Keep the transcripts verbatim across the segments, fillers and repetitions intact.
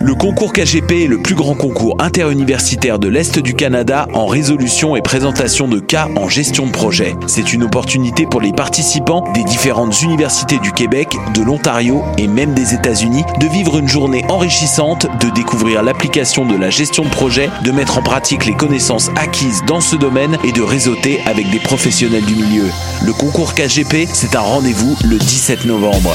Le concours K G P est le plus grand concours interuniversitaire de l'Est du Canada en résolution et présentation de cas en gestion de projet. C'est une opportunité pour les participants des différentes universités du Québec, de l'Ontario et même des États-Unis de vivre une journée enrichissante, de découvrir l'application de la gestion de projet, de mettre en pratique les connaissances acquises dans ce domaine et de réseauter avec des professionnels du milieu. Le concours K G P, c'est un rendez-vous le dix-sept novembre.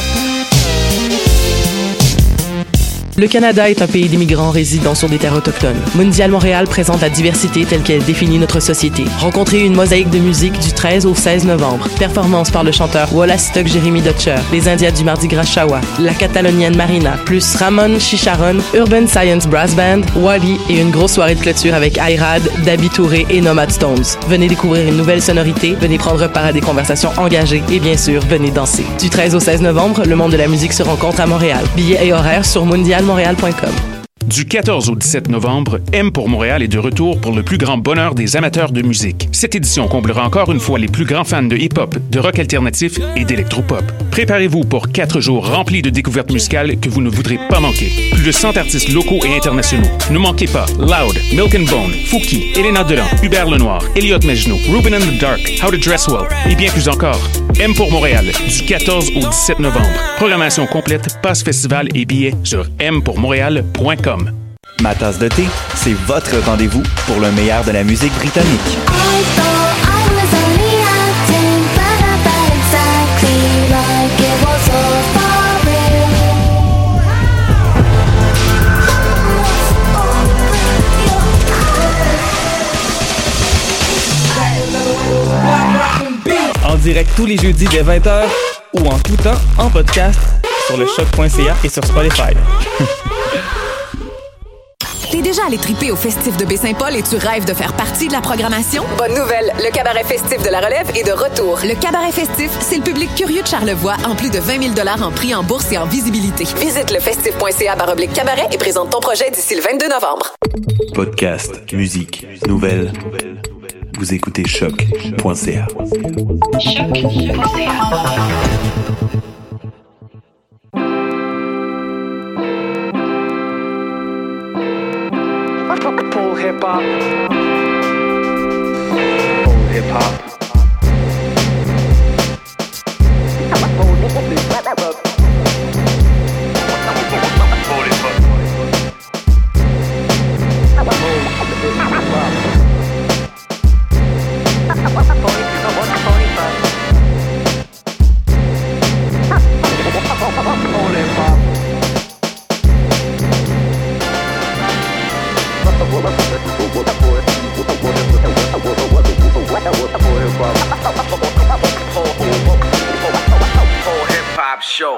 Le Canada est un pays d'immigrants résidant sur des terres autochtones. Mondial Montréal présente la diversité telle qu'elle définit notre société. Rencontrez une mosaïque de musique du treize au seize novembre. Performance par le chanteur Wallastock Jérémy Dutcher, les Indiens du Mardi Gras Shawa, la Catalonienne Marina, plus Ramon Chicharon, Urban Science Brass Band, Wally et une grosse soirée de clôture avec Ayrad, Dabi Touré et Nomad Stones. Venez découvrir une nouvelle sonorité, venez prendre part à des conversations engagées et bien sûr, venez danser. Du treize au seize novembre, le monde de la musique se rencontre à Montréal. Billets et horaires sur mondial montréal point com. Du quatorze au dix-sept novembre, M pour Montréal est de retour pour le plus grand bonheur des amateurs de musique. Cette édition comblera encore une fois les plus grands fans de hip-hop, de rock alternatif et d'électropop. Préparez-vous pour quatre jours remplis de découvertes musicales que vous ne voudrez pas manquer. Plus de cent artistes locaux et internationaux. Ne manquez pas Loud, Milk and Bone, Fouki, Elena Delan, Hubert Lenoir, Elliot Mejno, Ruben and the Dark, How to Dress Well et bien plus encore. M pour Montréal, du quatorze au dix-sept novembre. Programmation complète, passe festival et billets sur m pour montréal point com. Ma tasse de thé, c'est votre rendez-vous pour le meilleur de la musique britannique. En direct tous les jeudis dès vingt heures ou en tout temps en podcast sur le choc point c a et sur Spotify. T'es déjà allé triper au Festif de Baie-Saint-Paul et tu rêves de faire partie de la programmation? Bonne nouvelle, le Cabaret Festif de la Relève est de retour. Le Cabaret Festif, c'est le public curieux de Charlevoix en plus de vingt mille dollars en prix en bourse et en visibilité. Visite le festif point c a barre oblique cabaret et présente ton projet d'ici le vingt-deux novembre. Podcast, musique, nouvelles. Vous écoutez choc point c a. choc point c a. Full hip hop. Full hip hop. Show.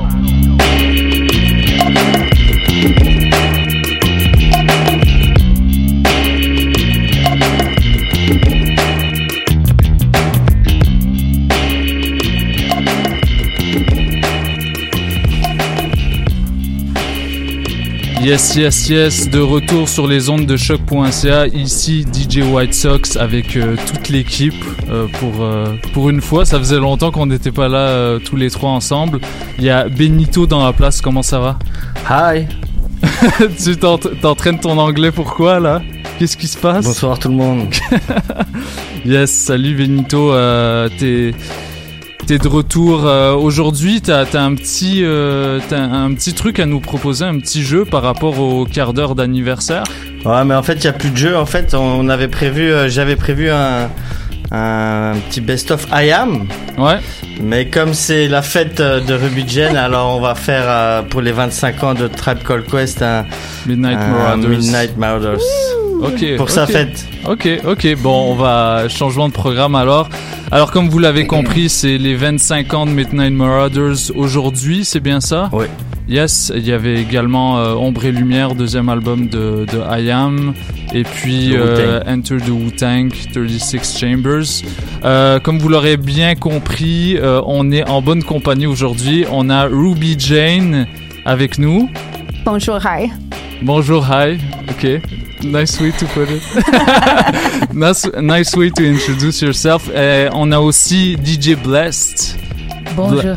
Yes, yes, yes, de retour sur les ondes de choc point c a, ici D J White Sox avec euh, toute l'équipe euh, pour, euh, pour une fois, ça faisait longtemps qu'on n'était pas là euh, tous les trois ensemble. Il y a Benito dans la place, comment ça va? Hi. Tu t'entraînes ton anglais, pourquoi là? Qu'est-ce qui se passe? Bonsoir tout le monde. Yes, salut Benito, euh, t'es... T'es de retour euh, aujourd'hui, t'as, t'as, un petit, euh, t'as un petit truc à nous proposer, un petit jeu par rapport au quart d'heure d'anniversaire. Ouais, mais en fait, il n'y a plus de jeu. En fait, on avait prévu, euh, j'avais prévu un, un petit best-of I Am. Ouais. Mais comme c'est la fête de Ruby Jen, alors on va faire euh, pour les vingt-cinq ans de Tribe Called Quest un Midnight un Marauders. Midnight Marauders. Ok. Pour okay. sa fête. Ok, ok. Bon, on va changement de programme alors. Alors, comme vous l'avez compris, c'est les vingt-cinq ans de Midnight Marauders aujourd'hui, c'est bien ça? Oui. Yes, il y avait également euh, Ombre et Lumière, deuxième album de, de I Am, et puis euh, Enter the Wu-Tang, trente-six Chambers. Euh, comme vous l'aurez bien compris, euh, on est en bonne compagnie aujourd'hui. On a Ruby Jane avec nous. Bonjour, hi. Bonjour, hi. Ok. Nice way to put it. nice, nice way to introduce yourself. Et on a aussi D J Blessed. Bonjour, hi.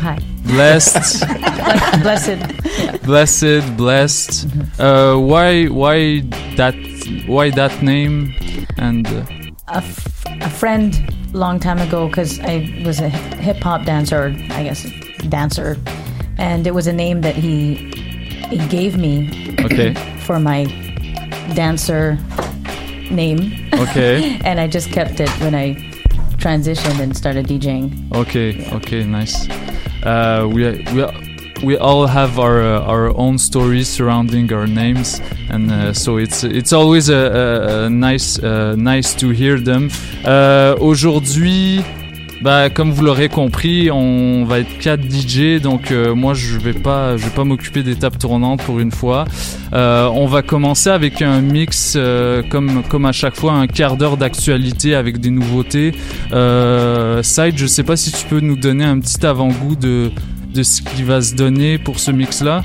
blessed. Blessed. Blessed, blessed. Uh, why, why that, why that name? And uh, a, f- a friend, long time ago, because I was a hip hop dancer, or I guess dancer, and it was a name that he he gave me. Okay. For my dancer name. Okay. And I just kept it when I transitioned and started DJing. Okay, yeah. okay, nice. Uh, we we we all have our uh, our own stories surrounding our names, and uh, so it's it's always a, a, a nice uh, nice to hear them. Uh, aujourd'hui, bah comme vous l'aurez compris, on va être quatre D J, donc euh, moi je vais pas je vais pas m'occuper des tables tournantes pour une fois. Euh, on va commencer avec un mix euh, comme comme à chaque fois, un quart d'heure d'actualité avec des nouveautés. Euh, Side, je sais pas si tu peux nous donner un petit avant-goût de de ce qui va se donner pour ce mix là.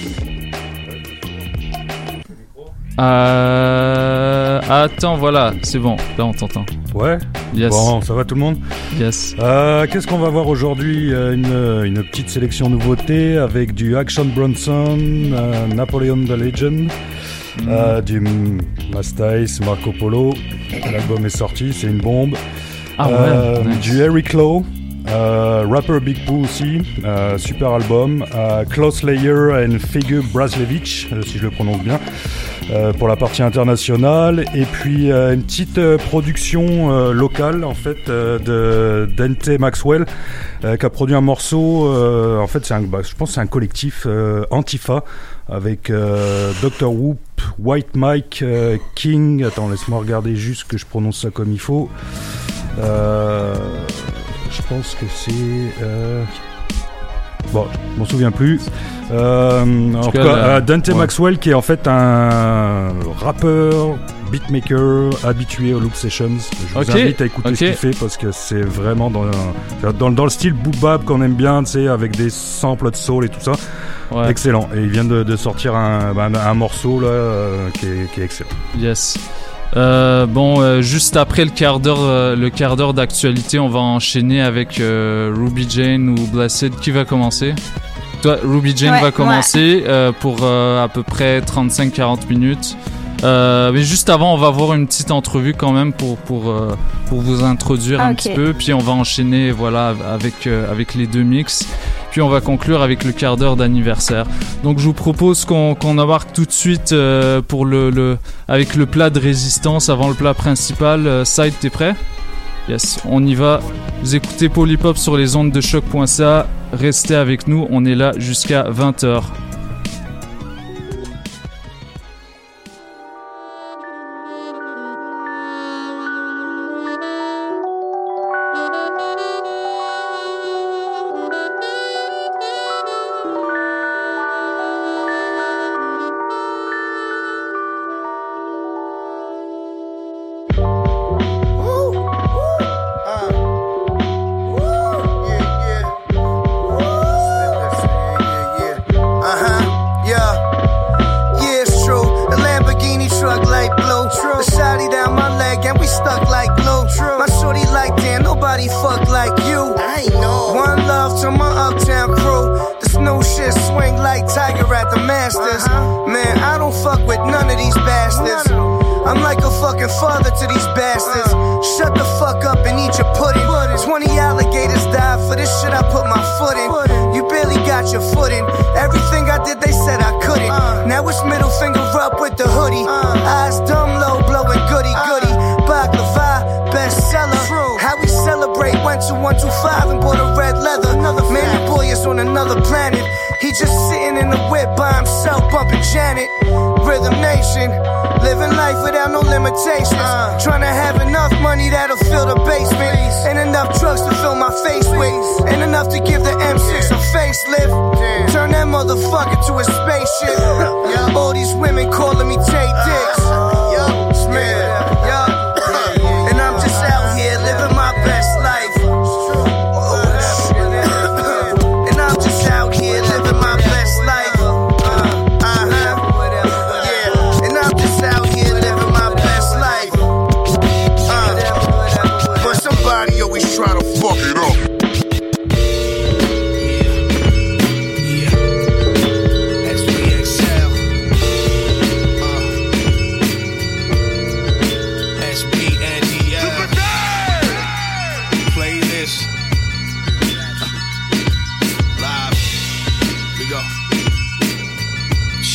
Euh... Attends, voilà, c'est bon, là on t'entend. Ouais. Yes. Bon, ça va tout le monde? Yes. Euh, qu'est-ce qu'on va voir aujourd'hui? une, une petite sélection nouveautés avec du Action Bronson, euh, Napoleon the Legend, mm. euh, du Masta Ace, Marco Polo. L'album est sorti, c'est une bombe. Ah ouais, euh, nice. Du Eric Lowe. Euh, Rapper Big Pooh aussi, euh, super album. euh, Klaus Layer and Figure Braslevich, euh, si je le prononce bien, euh, pour la partie internationale. Et puis euh, une petite euh, production euh, locale en fait euh, de Dante Maxwell, euh, qui a produit un morceau. Euh, en fait, c'est un, bah, je pense que c'est un collectif euh, Antifa avec euh, docteur Whoop, White Mike, euh, King. Attends, laisse-moi regarder juste que je prononce ça comme il faut. Euh, Je pense que c'est... Euh... Bon, je m'en souviens plus. Euh, en tout cas, euh, Dante ouais. Maxwell, qui est en fait un rappeur, beatmaker, habitué aux Loop Sessions. Je vous okay. invite à écouter okay. ce qu'il fait parce que c'est vraiment dans, dans, dans le style boom-bap qu'on aime bien, tu sais, avec des samples de soul et tout ça. Ouais. Excellent. Et il vient de, de sortir un, un, un morceau là, euh, qui, est, qui est excellent. Yes. Euh, bon, euh, juste après le quart d'heure, euh, le quart d'heure d'actualité, on va enchaîner avec euh, Ruby Jane ou Blessed. Qui va commencer? Toi, Ruby Jane ouais, va commencer ouais. euh, pour euh, à peu près trente-cinq à quarante minutes. Euh, mais juste avant, on va avoir une petite entrevue quand même pour pour euh, pour vous introduire okay. un petit peu. Puis on va enchaîner, voilà, avec euh, avec les deux mix. Puis on va conclure avec le quart d'heure d'anniversaire. Donc je vous propose qu'on, qu'on embarque tout de suite euh, pour le, le avec le plat de résistance avant le plat principal. Euh, Side, t'es prêt? Yes, on y va. Vous écoutez Polypop sur les ondes de choc point c a. Restez avec nous, on est là jusqu'à vingt heures.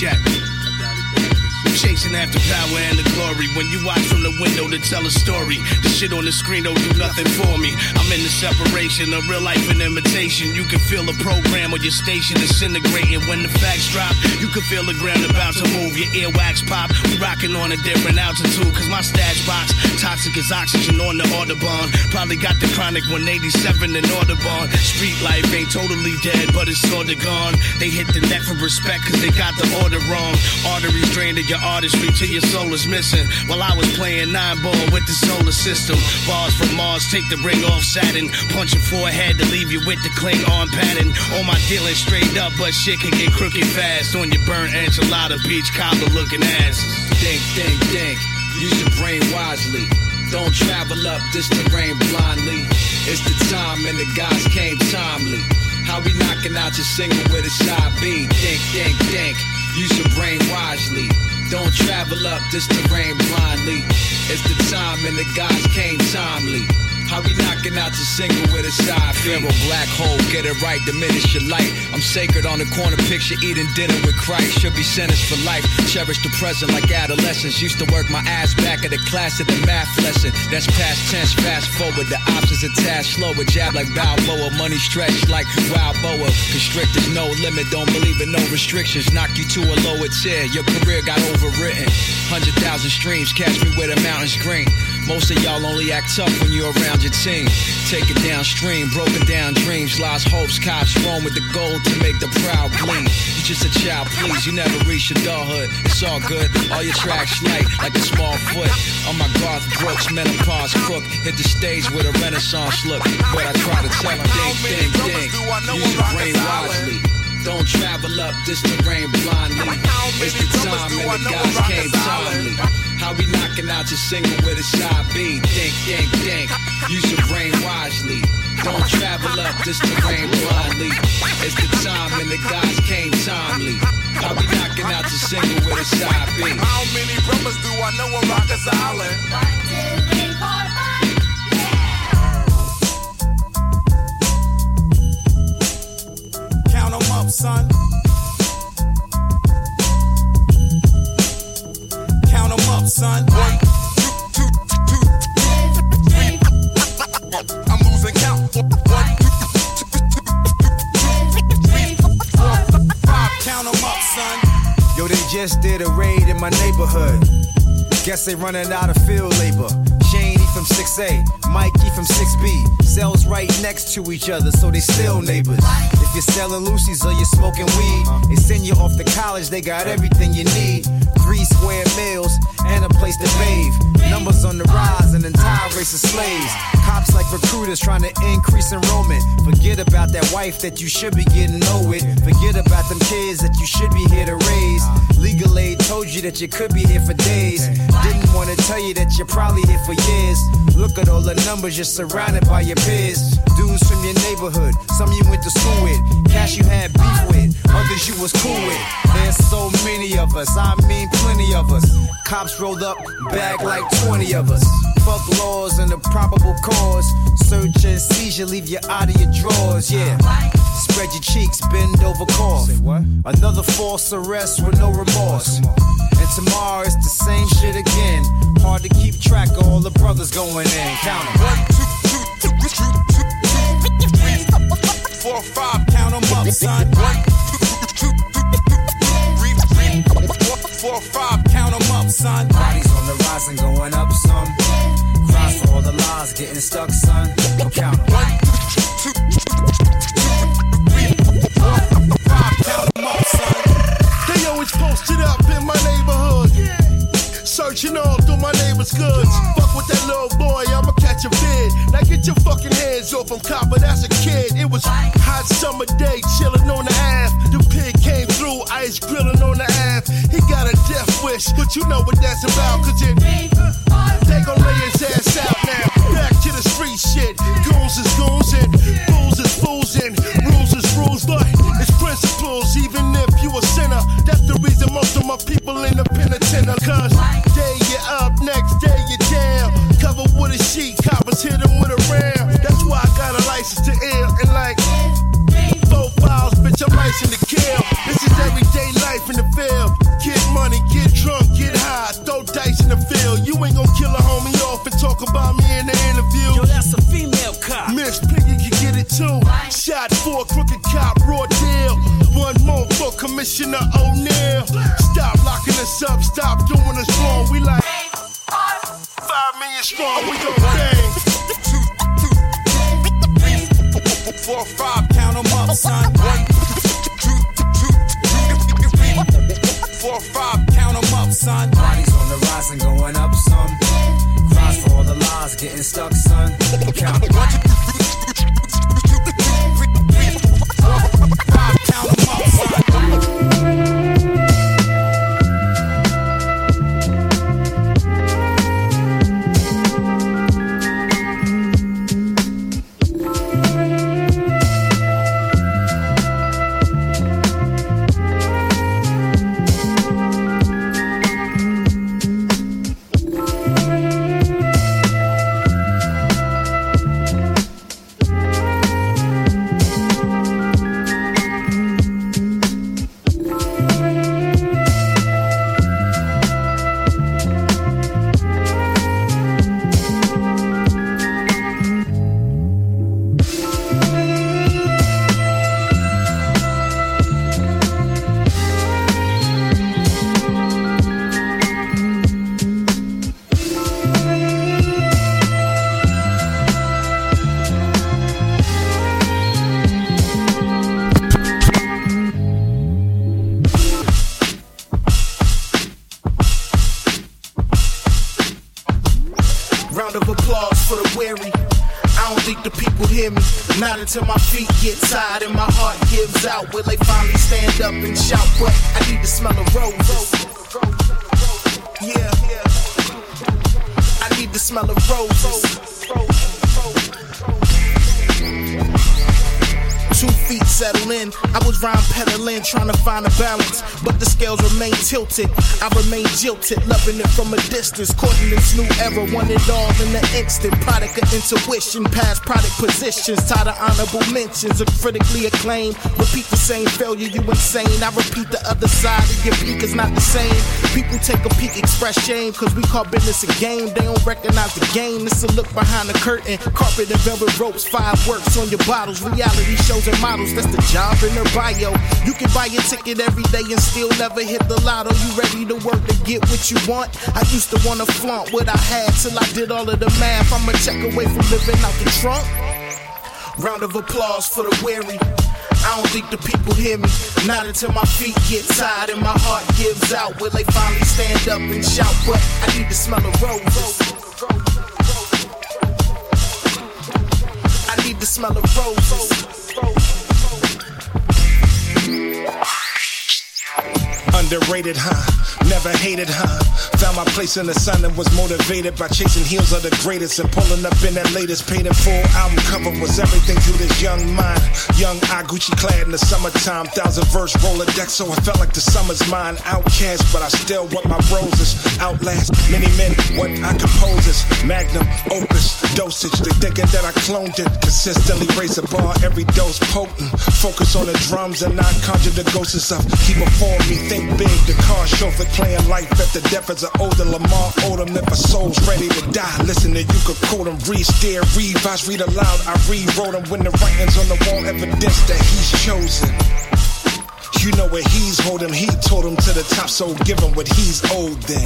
check. Chasing after power and the glory. When you watch from the window to tell a story, the shit on the screen don't do nothing for me. I'm in the separation of real life and imitation. You can feel the program on your station disintegrating. When the facts drop, you can feel the ground about to move. Your earwax pop. We rocking on a different altitude. Cause my stash box, toxic as oxygen on the Audubon. Probably got the chronic one eighty-seven in Audubon. Street life ain't totally dead, but it's sorta gone. They hit the net for respect cause they got the order wrong. Arteries drained to your artistry till your soul is missing. While I was playing nine ball with the solar system. Bars from Mars, take the ring off Saturn. Punch your forehead to leave you with the Klingon pattern. On my dealing straight up, but shit can get crooked fast. On your burnt enchilada, beach cobbler looking ass. Think, think, think. Use your brain wisely. Don't travel up this terrain blindly. It's the time and the guys came timely. How we knocking out your single with a side B? Think, think, think. Use your brain wisely. Don't travel up this terrain blindly. It's the time and the guys came timely. How we knocking out your single with a side Pharaoh black hole, get it right, diminish your light. I'm sacred on the corner, picture eating dinner with Christ. Should be sentenced for life, cherish the present like adolescence. Used to work my ass back at the class at the math lesson. That's past tense, fast forward, the options attached slower. Jab like Balboa, money stretched like wild boa. Constrictors, no limit, don't believe in no restrictions. Knock you to a lower tier, your career got overwritten. Hundred thousand streams, catch me where the mountains green. Most of y'all only act tough when you're around your team. Take it downstream, broken down dreams, lost hopes, cops roam with the gold to make the proud bleed. You just a child, please, you never reach adulthood. It's all good, all your tracks light like a small foot. On my Garth Brooks, menopause crook, hit the stage with a renaissance look. But I try to tell them, think, think, think, use your brain wisely. Don't travel up this terrain blindly. It's the time and the guys came timely. How we knocking out your single with a side B? Think, think, think. Use your brain wisely. Don't travel up this terrain blindly. It's the time and the guys came timely. How we knocking out your single with a side B? How many brothers do I know on Rikers Island? One, two, three, four, five. Count 'em up, son. Count 'em up, son. One, two, two, two, three. I'm losing count. One, two, three, four, five. Count 'em up, son. Yo, they just did a raid in my neighborhood. Guess they running out of field labor. Shane E from six A, Mike E from six B. Cells right next to each other, so they still neighbors. If you're selling Lucy's or you're smoking weed, they send you off to college, they got everything you need. Three square meals and a place to bathe. Numbers on the rise, an entire race of slaves. Cops like recruiters trying to increase enrollment. Forget about that wife that you should be getting know with. Forget about them kids that you should be here to raise. Legal aid told you that you could be here for days. Didn't want to tell you that you're probably here for years. Look at all the numbers, you're surrounded by your peers. Dudes from your neighborhood, some you went to school with. Cash you had beef with, others you was cool with. There's so many of us, I mean plenty of us. Cops rolled up, bag like twenty of us. Fuck laws and the probable cause. Search and seizure, leave you out of your drawers, yeah. Spread your cheeks, bend over, cough. Another false arrest with no remorse. And tomorrow it's the same shit again. Hard to keep track of all the brothers going in. Count 'em. One, two, two, two, two, two, two, three, four, five. Count 'em up, son. One, two, two, two, three, three, four, four, five. Count 'em up, son. Bodies on the rise and going up some. Cries for all the lies getting stuck, son. Count 'em. One, two, three, four, five. Count 'em up, son. They always posted up in my neighborhood. Searching all through my neighbor's goods. Fuck with that little boy, I'ma catch a vid. Now get your fucking hands off him, copper, that's a kid. It was hot summer day, chilling on the Ave. The pig came through, ice grilling on the Ave. He got a death wish, but you know what that's about, cause it they gon' lay his ass out now. Back to the street shit. Goons is goons and fools is fools and rules is rules, but it's principles, even if you a sinner. That's the reason most of my people in the penitentiary. Cause day you're up, next day you're down. Covered with a sheet, coppers hit them with a round. That's why I got a license to ill and like four files, bitch, I'm licensed to kill. This is everyday life in the field. Get money, get drunk, get high, throw dice in the field. You ain't gon' kill a homie off and talk about me in the interview. Yo, that's a female cop. Miss Piggy can get it too. Shot for a crooked cop, raw deal. One more for Commissioner O'Neal. Stop locking us up, stop doing us wrong. We like five million strong, we gon' bang. Four, five, count 'em up, son. One, two, two, four, five, count 'em up, son. Bodies on the rise and going up some. Cries for all the lies getting stuck, son. Count one, two, five, count 'em up, son. Not until my feet get tired and my heart gives out. Will they finally stand up and shout? But I need to smell a rose. Yeah, I need to smell a rose. Two feet settle in. I was rhyme peddling, trying to find a balance, but the scales remain tilted. I remain jilted, loving it from a distance. Caught in this new era, want it all in an instant. Product of intuition, past product positions. Tired of honorable mentions, of critically acclaimed. Repeat the same failure, you insane. I repeat the other side of your peak is not the same. People take a peek, express shame, cause we call business a game. They don't recognize the game. This a look behind the curtain. Carpet and velvet ropes, five works on your bottles. Reality shows and models, that's the job in their bio. You can buy your ticket every day and still never hit the lotto. You ready to work to get what you want? I used to wanna flaunt what I had till I did all of the math. I'm a check away from living out the trunk. Round of applause for the weary. I don't think the people hear me. Not until my feet get tired and my heart gives out. Will they finally stand up and shout? But I need to smell a rose. I need to smell a rose. Underrated, huh? Never hated, huh? Found my place in the sun and was motivated by chasing heels of the greatest and pulling up in that latest paid in full album cover was everything to this young mind. Young I Gucci clad in the summertime, thousand verse Rolodex, so I felt like the summer's mine. Outcast, but I still want my roses. Outlast many men, what I compose is magnum opus dosage. They thinking that I cloned it. Consistently raise the bar, every dose potent. Focus on the drums and not conjure the ghosts of. Keep before me, think big. The car chauffeur playing life at the depth as an older Lamar Odom. If a soul's ready to die, listen to you could quote him, read, stare, revise, read aloud. I rewrote him when the writings on the wall evidence that he's chosen. You know where he's holding, he told him to the top, so give him what he's owed then.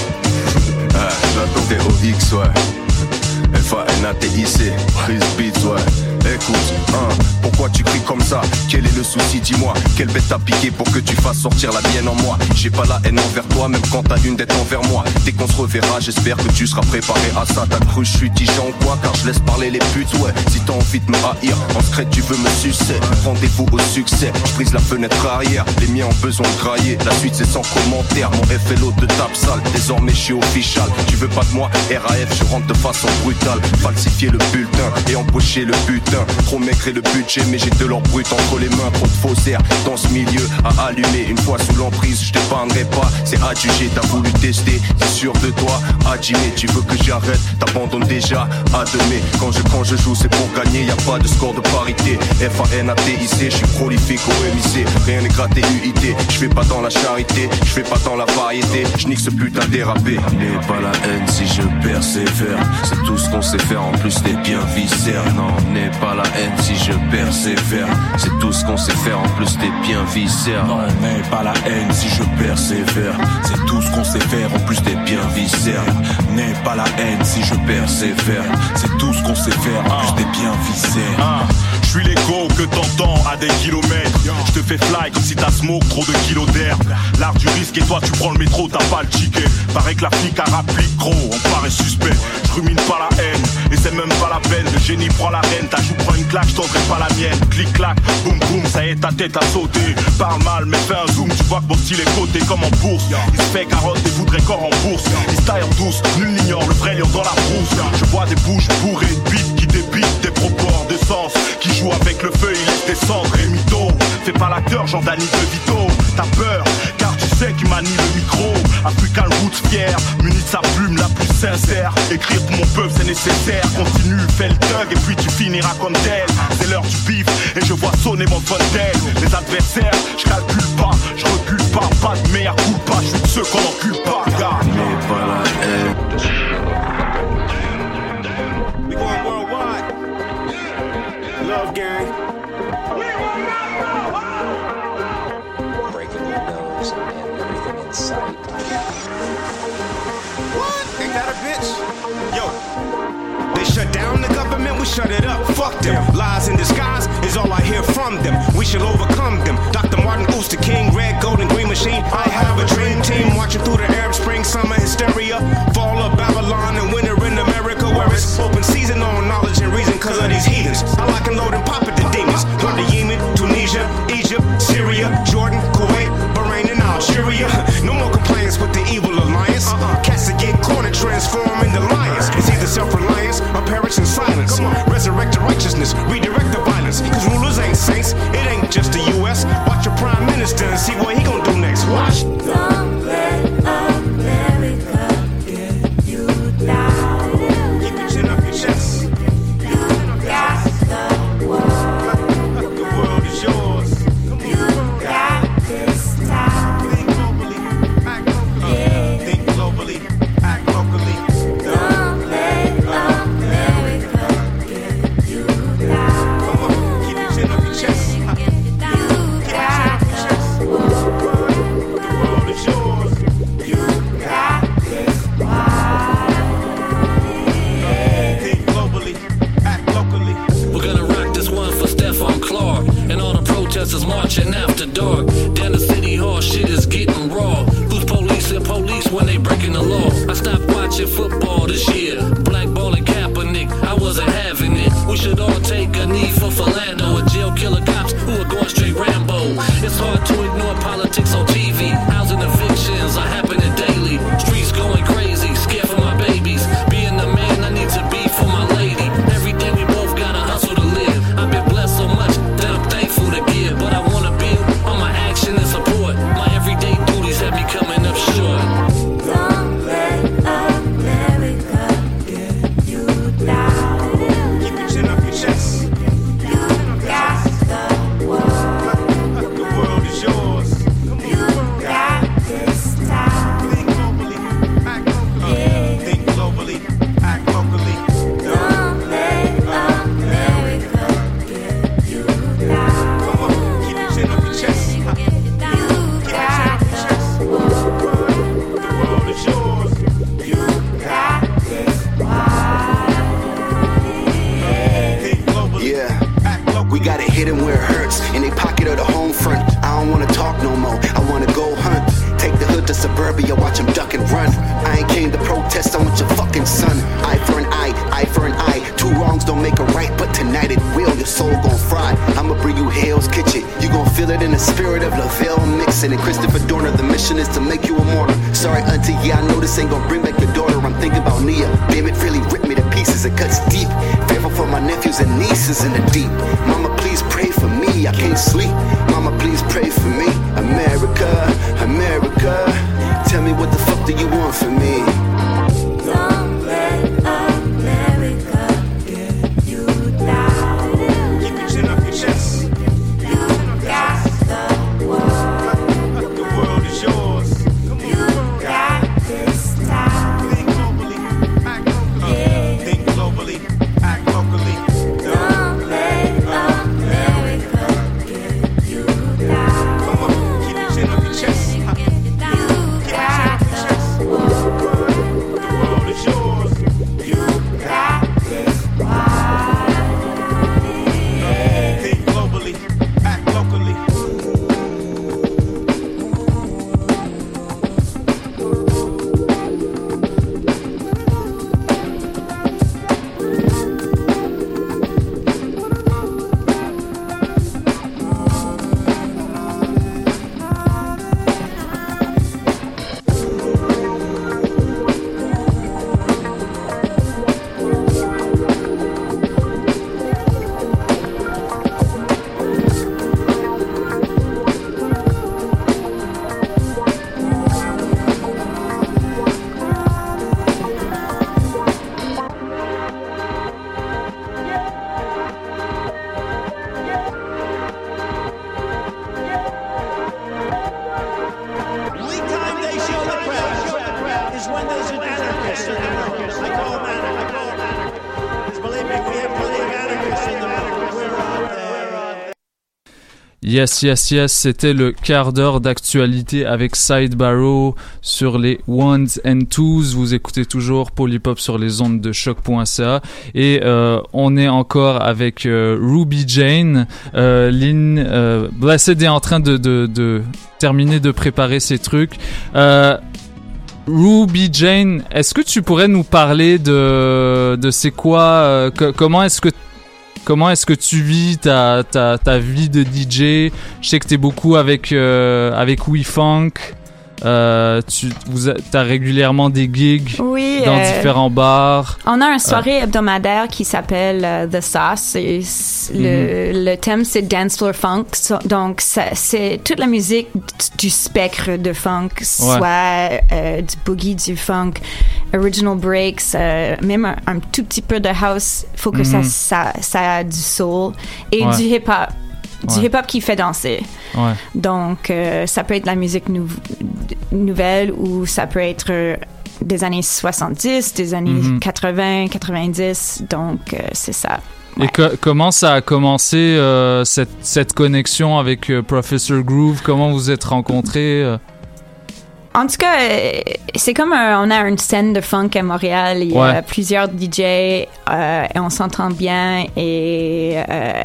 X, ouais. F A N A T I C, prise beats, ouais. Écoute, hein, pourquoi tu cries comme ça? Quel est le souci, dis-moi? Quelle bête t'as piqué pour que tu fasses sortir la mienne en moi? J'ai pas la haine envers toi, même quand t'as une dette envers moi. Dès qu'on se reverra, j'espère que tu seras préparé à ça. T'as cru je suis tigeant ou quoi? Car je laisse parler les putes, ouais. Si t'as envie de me haïr, en secret tu veux me sucer. Rendez-vous au succès, je brise la fenêtre arrière. Les miens ont besoin de grailler, la suite c'est sans commentaire. Mon F L O te tape sale, désormais je suis official. Tu veux pas de moi, R A F, je rentre de façon brutale. Falsifier le bulletin et empocher le butin. Trop maigre et le budget, mais j'ai de l'or brut entre les mains. Trop de faussaires dans ce milieu à allumer. Une fois sous l'emprise, je t'épargnerai pas. C'est adjugé, t'as voulu tester, t'es sûr de toi. Adjimé, tu veux que j'arrête, t'abandonnes déjà. Ademé, quand je, quand je joue c'est pour gagner. Y'a pas de score de parité. F A N A T I C, je suis prolifique au M I C. Rien n'est gratté U I T, je fais pas dans la charité, je fais pas dans la variété. Je nique ce putain dérapé. N'aie pas la haine si je persévère. C'est tout ce qu'on sait faire, en plus t'es bien viscère. Non, n'aie pas la haine si je persévère. C'est tout ce qu'on sait faire, en plus t'es bien viscère. Non, n'aie pas la haine si je persévère. C'est tout ce qu'on sait faire, en plus t'es bien viscère. N'aie pas la haine si je persévère. C'est tout ce qu'on sait faire, en plus t'es bien viscère. Ah. Je suis l'écho que t'entends à des kilomètres. Je te fais fly comme si t'as smoke trop de kilos d'air. L'art du risque et toi tu prends le métro, t'as pas le ticket. Paraît que la flic a rapplique gros, on paraît suspect. Je rumine pas la haine, et c'est même pas la peine. Le génie prend la reine, ta joue prend une claque, je tendrai pas la mienne. Clic clac, boum boum, ça y est ta tête a sauté. Parle mal mais fais un zoom, tu vois que mon style est coté comme en bourse. Il se fait carotte et voudrait corps en bourse. Il se taille en douce, nul n'ignore le vrai lion dans la brousse. Je vois des bouches bourrées, bites qui débitent des propos hors de sens. Qui joue avec le feu, il laisse descendre et mytho. Fais pas l'acteur, Jean-Dany de Vito. T'as peur, car tu sais qu'il manie le micro. African Roots fier, muni de sa plume la plus sincère. Écrire pour mon peuple c'est nécessaire. Continue, fais le thug et puis tu finiras comme tel. C'est l'heure du bif et je vois sonner mon fontaine. Les adversaires, je calcule pas, je recule pas. Pas de mea culpa, je suis de ceux qu'on encule pas. Gars, n'aie pas la haine. We going worldwide. Love gang. Breaking your nose and everything in sight. What? Ain't that a bitch? Yo. They shut down the government, we shut it up. Fuck them. Lies in disguise is all I hear from them. We shall overcome them. Doctor Martin Luther King, red, gold, and green machine. I have a dream team watching through the Arab Spring, summer hysteria. Fall of Babylon and winter in America, where it's open season on knowledge and reason because of these heathens. I like and load and pop at the demons. Go to Yemen, Tunisia, Egypt, Syria, Jordan, Kuwait, Bahrain, and Algeria. No more compliance with the evil alliance. Uh-uh. Cats that get cornered transform into lions. It's either self-reliance or perish in silence. Resurrect the righteousness, redirect the violence. Cause rulers ain't saints, it ain't just the U S. Watch your prime minister and see what he gon' do next. Watch. Don't let America get you down. Keep your chin up your chest. You got the world. The world is yours. You got this town. Think globally, act locally. Yeah. Think globally, act locally. Don't let America get you down. Come on, keep your chin up your chest. You got the world. The world is yours. You got this wild. Think globally, act locally. We're gonna rock this one for Stephon Clark and all the protesters marching after dark. Down the city hall, shit is getting raw. Who's police and police when they breaking the law? I stopped watching football this year. Blackballing Kaepernick, I wasn't having it. We should all take a knee for Philando or jail killer cops who are going straight Rambo. It's hard to ignore politics on T V. Housing evictions are happening daily. Streets going crazy, scared for my babies. Being the man I need to be for my lady. Every day we both gotta hustle to live. I've been blessed so much that I'm thankful to give. But I wanna build on my action and support. My everyday duties have me coming up short. Don't let America get you down. Keep your chin up your chest. You gotta hit him where it hurts. In they pocket of the home front. I don't wanna talk no more. I wanna go hunt. Take the hood to suburbia, watch him duck and run. I ain't came to protest, I want your fucking son. Eye for an eye, eye for an eye. Two wrongs don't make a right, but tonight it will. Your soul gon' fry. I'ma bring you Hell's Kitchen. You gon' feel it in the spirit of Lavelle mixing. And Christopher Dorner, the mission is to make you a martyr. Sorry, auntie, yeah, I know this ain't gon' bring back your daughter. I'm thinking about Nia. Damn, it really ripped me to pieces. It cuts deep. Fearful for my nephews and nieces in the deep. Mama, please pray for me. I can't sleep. Mama, please pray for me. America, America. Tell me what the fuck do you want from me? Don't let America get you down. Keep your chin up your chest. You got the world. The world is yours. You got this town. Think globally, act locally. Yeah. Think globally, act locally. Don't let America get you down. Come on, keep your chin up your chest. You got the world. The world is yours. You got this wild. Yeah. Think globally, act locally. Only time they show the crowd is when there's an anarchist in the room. I call them anarchists. I call them anarchists. Because believe me, we have plenty of anarchists in the room. We're out there. Yes, yes, yes, c'était le quart d'heure d'actualité avec Side Barrow sur les ones and twos. Vous écoutez toujours Polypop sur les ondes de choc point c a et euh, on est encore avec euh, Ruby Jane. Euh, Lynn, euh, Blessed est en train de, de, de terminer de préparer ses trucs. Euh, Ruby Jane, est-ce que tu pourrais nous parler de, de c'est quoi, euh, que, comment est-ce que Comment est-ce que tu vis ta, ta, ta vie de D J? Je sais que t'es beaucoup avec, euh, avec WeFunk. Euh, tu vous a, t'as régulièrement des gigs oui, dans euh, différents bars. On a une soirée euh. hebdomadaire qui s'appelle uh, The Sauce. Et le, mm-hmm. le thème, c'est Dance Floor Funk. So, donc, ça, c'est toute la musique du spectre de funk, ouais. soit euh, du boogie, du funk, original breaks, euh, même un, un tout petit peu de house. Il faut que mm-hmm. ça, ça, ça a du soul et ouais. du hip-hop. Du ouais. hip-hop qui fait danser. Ouais. Donc, euh, ça peut être la musique nou- nouvelle ou ça peut être euh, des années soixante-dix, des années mm-hmm. quatre-vingts, quatre-vingt-dix. Donc, euh, c'est ça. Ouais. Et co- comment ça a commencé, euh, cette, cette connexion avec euh, Professor Groove? Comment vous êtes rencontrés? Euh? En tout cas, euh, c'est comme un, on a une scène de funk à Montréal. Il y ouais. a plusieurs D J euh, et on s'entend bien. Et... Euh,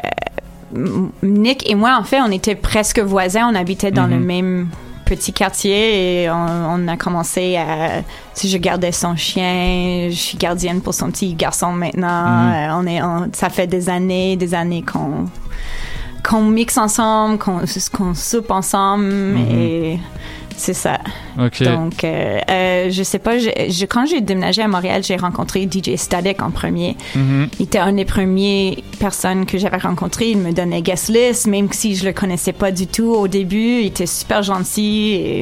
Nick et moi, en fait, on était presque voisins. On habitait dans mm-hmm. le même petit quartier et on, on a commencé à... Si je gardais son chien, je suis gardienne pour son petit garçon maintenant. Mm-hmm. Euh, on est, on, ça fait des années, des années qu'on qu'on mixe ensemble, qu'on, qu'on soupe ensemble mm-hmm. et c'est ça. Okay. Donc, euh, euh, je sais pas, je, je, quand j'ai déménagé à Montréal, j'ai rencontré D J Static en premier. Mm-hmm. Il était une des premières personnes que j'avais rencontrées. Il me donnait guest list, même si je le connaissais pas du tout au début. Il était super gentil et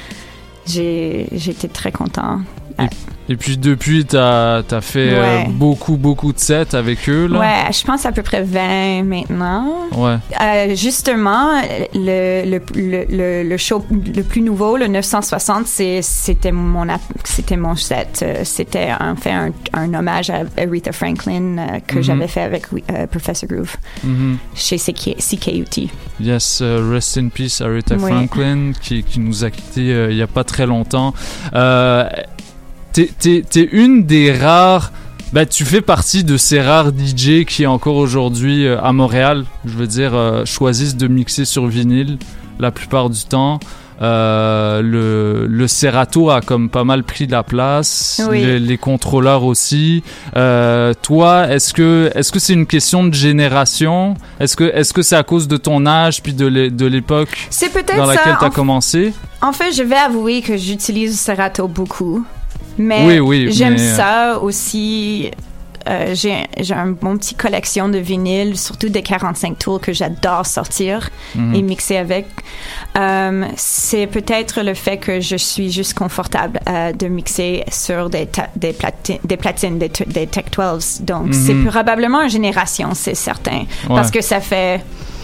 j'ai, j'étais très content. Et, et puis depuis, t'as, t'as fait ouais. euh, beaucoup, beaucoup de sets avec eux, là? Ouais, je pense à peu près vingt maintenant. Ouais. Euh, justement, le, le, le, le, le show le plus nouveau, le neuf cent soixante, c'est, c'était, mon, c'était mon set. C'était en fait un, un hommage à Aretha Franklin euh, que mm-hmm. j'avais fait avec euh, Professor Groove mm-hmm. chez C K, C K U T. Yes, uh, rest in peace Aretha oui. Franklin qui, qui nous a quittés euh, il n'y a pas très longtemps. Euh, T'es, t'es, t'es une des rares Ben, tu fais partie de ces rares D J qui encore aujourd'hui euh, à Montréal, je veux dire, euh, choisissent de mixer sur vinyle la plupart du temps. Euh, le, le Serato a comme pas mal pris de la place, Oui. les, les contrôleurs aussi. Euh, toi, est-ce que est-ce que c'est une question de génération? Est-ce que est-ce que c'est à cause de ton âge puis de l'é- de l'époque C'est peut-être dans laquelle ça. tu as En- commencé? En fait, je vais avouer que j'utilise Serato beaucoup. Mais Oui, oui, j'aime mais, euh, ça aussi. Euh, j'ai, j'ai un bon petit collection de vinyles, surtout des quarante-cinq tours que j'adore sortir Mhm. et mixer avec. Euh, c'est peut-être le fait que je suis juste confortable euh, de mixer sur des, ta- des, plati- des platines, des, t- des Tech douze. Donc, Mhm. c'est probablement une génération, c'est certain. Ouais. Parce que ça fait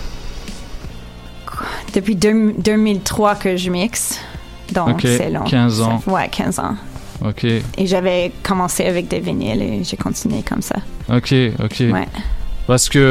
quoi, depuis deux- deux mille trois que je mixe. Donc, Ok, c'est long. quinze ans. Ça- ouais, quinze ans. Ok, Et j'avais commencé avec des vinyles et j'ai continué comme ça. ok, ok. Ouais. Parce que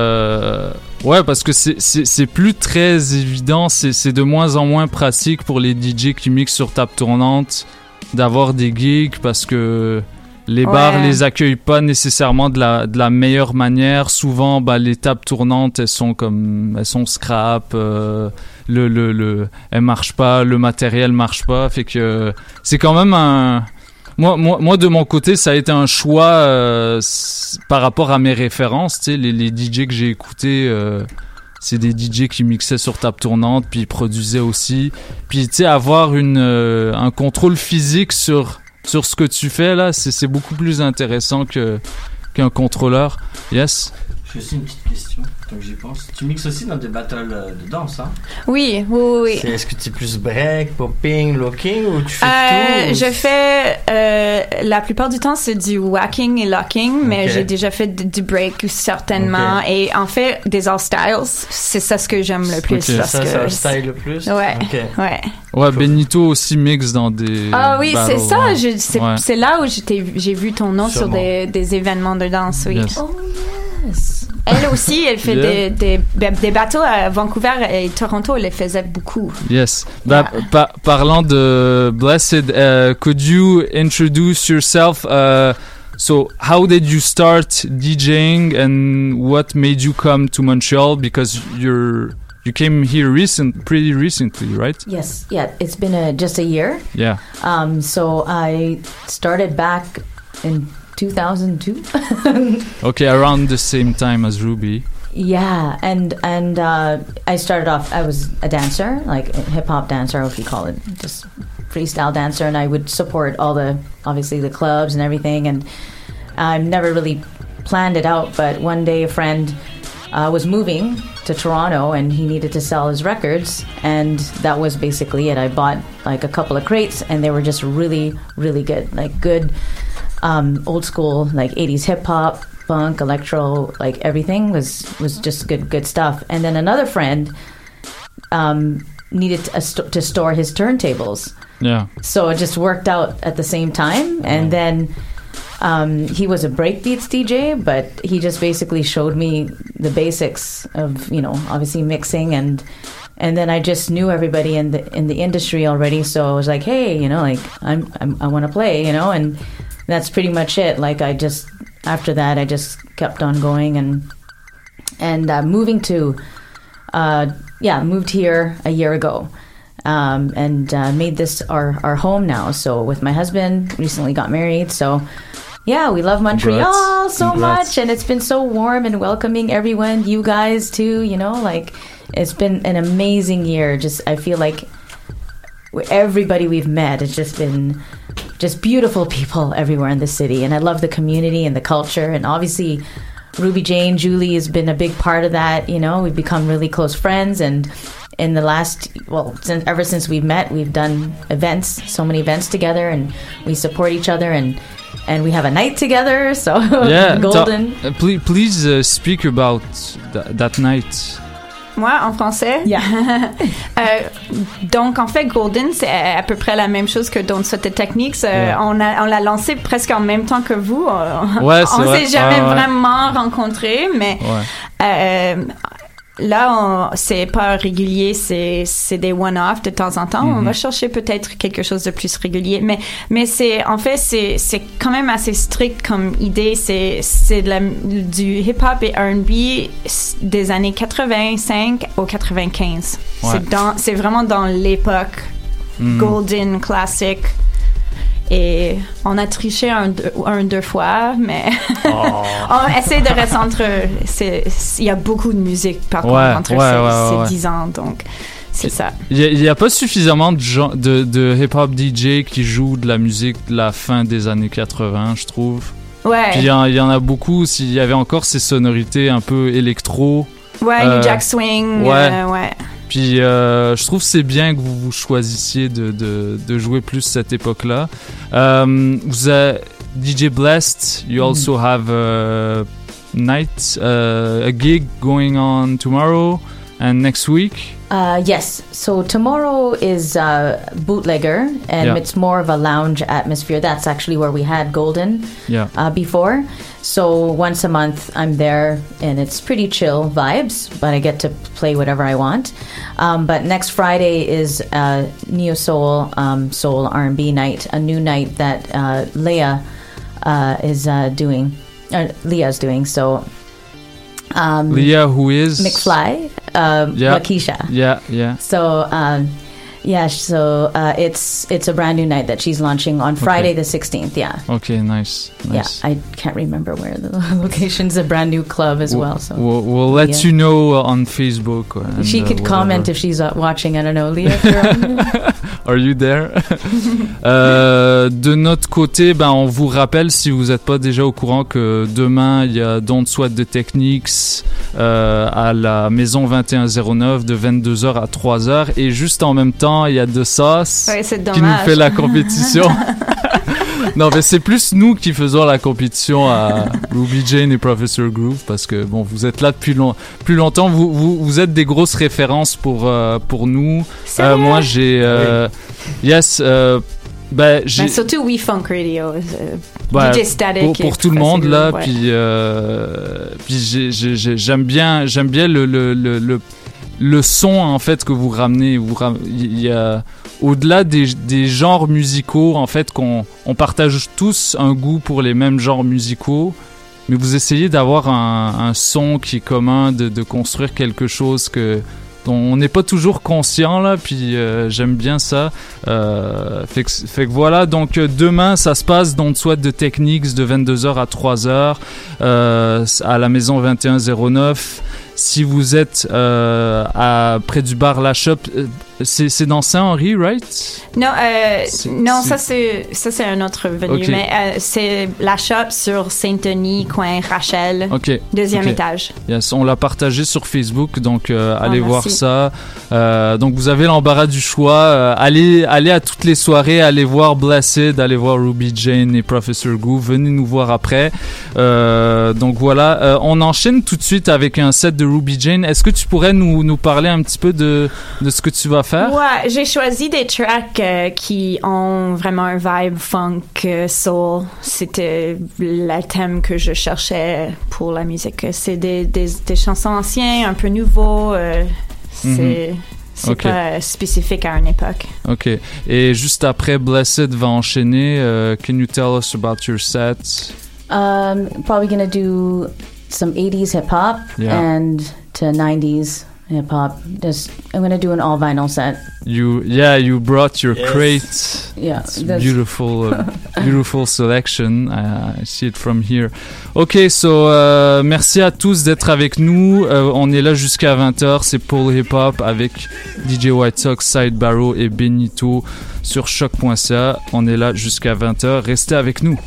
euh, ouais, parce que c'est c'est c'est plus très évident, c'est c'est de moins en moins pratique pour les D J qui mixent sur table tournante d'avoir des gigs parce que les bars Ouais. les accueillent pas nécessairement de la de la meilleure manière. Souvent, bah les tables tournantes, elles sont comme elles sont scrap, euh, le le le elles marchent pas, le matériel marche pas, fait que c'est quand même un Moi, moi, moi, de mon côté, ça a été un choix euh, s- par rapport à mes références. Tu sais, les, les D J que j'ai écoutés, euh, c'est des D J qui mixaient sur table tournante, puis ils produisaient aussi. Puis, tu sais, avoir une, euh, un contrôle physique sur, sur ce que tu fais, là, c'est, c'est beaucoup plus intéressant que, qu'un contrôleur. Yes? J'ai aussi une petite question, tant que j'y pense. Tu mixes aussi dans des battles euh, de danse, hein? Oui, oui, oui. C'est- Est-ce que tu es plus break, popping, locking ou tu fais Euh, tout? ou- je fais euh, la plupart du temps c'est du whacking et locking, mais Ok. j'ai déjà fait du, du break certainement. Ok. Et en fait des all styles, c'est ça ce que j'aime le plus. Ok. parce Ça, que c'est un style le plus? Ouais, Ok. ouais. Ouais, Benito aussi mixe dans des. Ah oui, c'est battles, ça. ouais. je- c'est, Ouais. c'est là où j'étais, j'ai vu ton nom Sûrement. sur des, des événements de danse. Oui. Yes. Oh yes. Elle aussi, elle fait Yeah. des, des, des bateaux à Vancouver et Toronto. Elle les faisait beaucoup. Yes. Bah, pa- parlant de Blessed, uh, could you introduce yourself? Uh, so, how did you start DJing, and what made you come to Montreal? Because you're you came here recent, pretty recently, right? Yes, yeah, it's been a, just a year. Yeah. Um, so I started back in two thousand two. Okay, around the same time as Ruby. Yeah, and and uh, I started off. I was a dancer, like a hip hop dancer, if you call it, just freestyle dancer, and I would support all the obviously the clubs and everything. And I've never really planned it out, but one day a friend uh, was moving to Toronto, and he needed to sell his records, and that was basically it. I bought like a couple of crates, and they were just really, really good, like good. Um, old school, like eighties hip hop, funk, electro, like everything was was just good good stuff. And then another friend um, needed a st- to store his turntables, Yeah. so it just worked out at the same time. And then um, he was a breakbeats D J, but he just basically showed me the basics of, you know, obviously mixing, and and then I just knew everybody in the in the industry already. So I was like, hey, you know, like I'm, I'm I want to play, you know, and that's pretty much it. Like I just after that I just kept on going, and and uh, moving to uh, yeah moved here a year ago. Um, and uh, made this our, our home now. So with my husband, recently got married. So yeah, we love Montreal Congrats. so Congrats. much, and it's been so warm and welcoming. Everyone, you guys too. You know, like it's been an amazing year. Just I feel like everybody we've met, it's just been just beautiful people everywhere in the city, and I love the community and the culture, and obviously Ruby Jane, Julie has been a big part of that. You know, we've become really close friends, and in the last, well, since, ever since we've met, we've done events, so many events together, and we support each other, and and we have a night together. So Yeah. golden. ta- uh, please, please uh, speak about th- that night. Moi, en français? Yeah. Euh, donc, en fait, Golden, c'est à peu près la même chose que Don't Sweat the Techniques. Euh, Ouais. on, a, on l'a lancé presque en même temps que vous. On, Ouais, c'est on vrai. s'est jamais Ouais, ouais. vraiment rencontrés, mais Ouais. euh, là, on, c'est pas régulier, c'est, c'est des one-off de temps en temps. Mm-hmm. On va chercher peut-être quelque chose de plus régulier. Mais, mais c'est, en fait, c'est, c'est quand même assez strict comme idée. C'est, c'est de la, du hip-hop et R and B des années quatre-vingt-cinq au quatre-vingt-quinze. Ouais. C'est dans, c'est vraiment dans l'époque mm. golden, classic. Et on a triché un, deux, un, deux fois, mais oh. on essaie de recentrer. Il y a beaucoup de musique, par contre, ouais, entre ouais, ces, ouais, ces ouais. dix ans, donc c'est ça. Il n'y a, a pas suffisamment de, gens, de, de hip-hop D J qui jouent de la musique de la fin des années quatre-vingts, je trouve. Ouais. Puis il y, y en a beaucoup, s'il y avait encore ces sonorités un peu électro. Ouais, euh, New Jack Swing, ouais. Euh, ouais. Puis euh, je trouve que c'est bien que vous, vous choisissiez de, de, de jouer plus cette époque-là. Um, vous avez D J Blessed, you also have a night, uh, a gig going on tomorrow and next week. Uh, yes. So tomorrow is uh, Bootlegger, and yeah. it's more of a lounge atmosphere. That's actually where we had Golden yeah. uh, before. So once a month, I'm there, and it's pretty chill vibes, but I get to play whatever I want. Um, but next Friday is uh, Neo Soul, um, Soul R and B night, a new night that uh, Leah uh, is uh, doing, or Leah's doing. So um, Leah, who is McFly. Um, yeah. Lakeisha. Yeah, yeah. So, um, yeah, so uh, it's it's a brand new night that she's launching on Friday okay. the sixteenth. Yeah. Okay, nice, nice. Yeah, I can't remember where the location's a brand new club as we'll, well. So we'll, we'll let yeah. you know on Facebook. And, she could uh, comment if she's uh, watching. I don't know, Leah. If you're on. Are you there? euh, de notre côté, ben, on vous rappelle, si vous n'êtes pas déjà au courant, que demain, il y a Don't Sweat the Techniques euh, à la Maison vingt et un zéro neuf de vingt-deux heures à trois heures. Et juste en même temps, il y a The Sauce ouais, qui nous fait la compétition. Non, mais c'est plus nous qui faisons la compétition à Ruby Jane et Professor Groove parce que bon, vous êtes là depuis long, plus longtemps. Vous, vous, vous êtes des grosses références pour euh, pour nous. Euh, moi, j'ai euh, oui. yes. Euh, ben, j'ai... Ben, surtout We Funk Radio, euh, bah, D J Static pour, pour tout le monde Groove, là. ouais. Puis euh, puis j'ai, j'ai, j'ai, j'aime bien j'aime bien le le le, le le son en fait que vous ramenez. Vous ram... il y a au-delà des, des genres musicaux, en fait, qu'on on partage tous un goût pour les mêmes genres musicaux, mais vous essayez d'avoir un, un son qui est commun, de, de construire quelque chose que, dont on n'est pas toujours conscient, là, puis euh, j'aime bien ça. Euh, fait, que, fait que voilà, donc demain, ça se passe dans Sweat de Techniques de vingt-deux heures à trois heures euh, à la Maison vingt et un zéro neuf. Si vous êtes euh, à, près du bar La Shop, c'est, c'est dans Saint-Henri, right? Non, euh, c'est, non c'est... Ça, c'est, ça, c'est un autre venu. Okay. Mais euh, c'est La Shop sur Saint-Denis, coin Rachel, okay. deuxième okay. étage. Yes, on l'a partagé sur Facebook, donc euh, oh, allez merci. voir ça. Euh, donc vous avez l'embarras du choix. Euh, allez, allez à toutes les soirées, allez voir Blessed, allez voir Ruby Jane et Professor Groove. Venez nous voir après. Euh, donc voilà, euh, on enchaîne tout de suite avec un set de Ruby Jane. Est-ce que tu pourrais nous, nous parler un petit peu de, de ce que tu vas faire? Ouais, j'ai choisi des tracks euh, qui ont vraiment un vibe funk, euh, soul. C'était le thème que je cherchais pour la musique. C'est des, des, des chansons anciennes, un peu nouveaux. Euh, c'est... Mm-hmm. C'est okay. pas spécifique à une époque. Ok. Et juste après, Blessed va enchaîner. Uh, can you tell us about your set? Um, probably gonna do some eighties hip hop yeah. and to nineties hip hop. Just I'm gonna do an all vinyl set. You yeah, you brought your yes. crate. Yeah, it's a beautiful, uh, beautiful selection. Uh, I see it from here. Ok, so uh, merci à tous d'être avec nous. Uh, on est là jusqu'à vingt heures. C'est Paul Hip Hop avec D J White Sox, Side Barrow et Benito sur choc point c a. On est là jusqu'à vingt heures. Restez avec nous.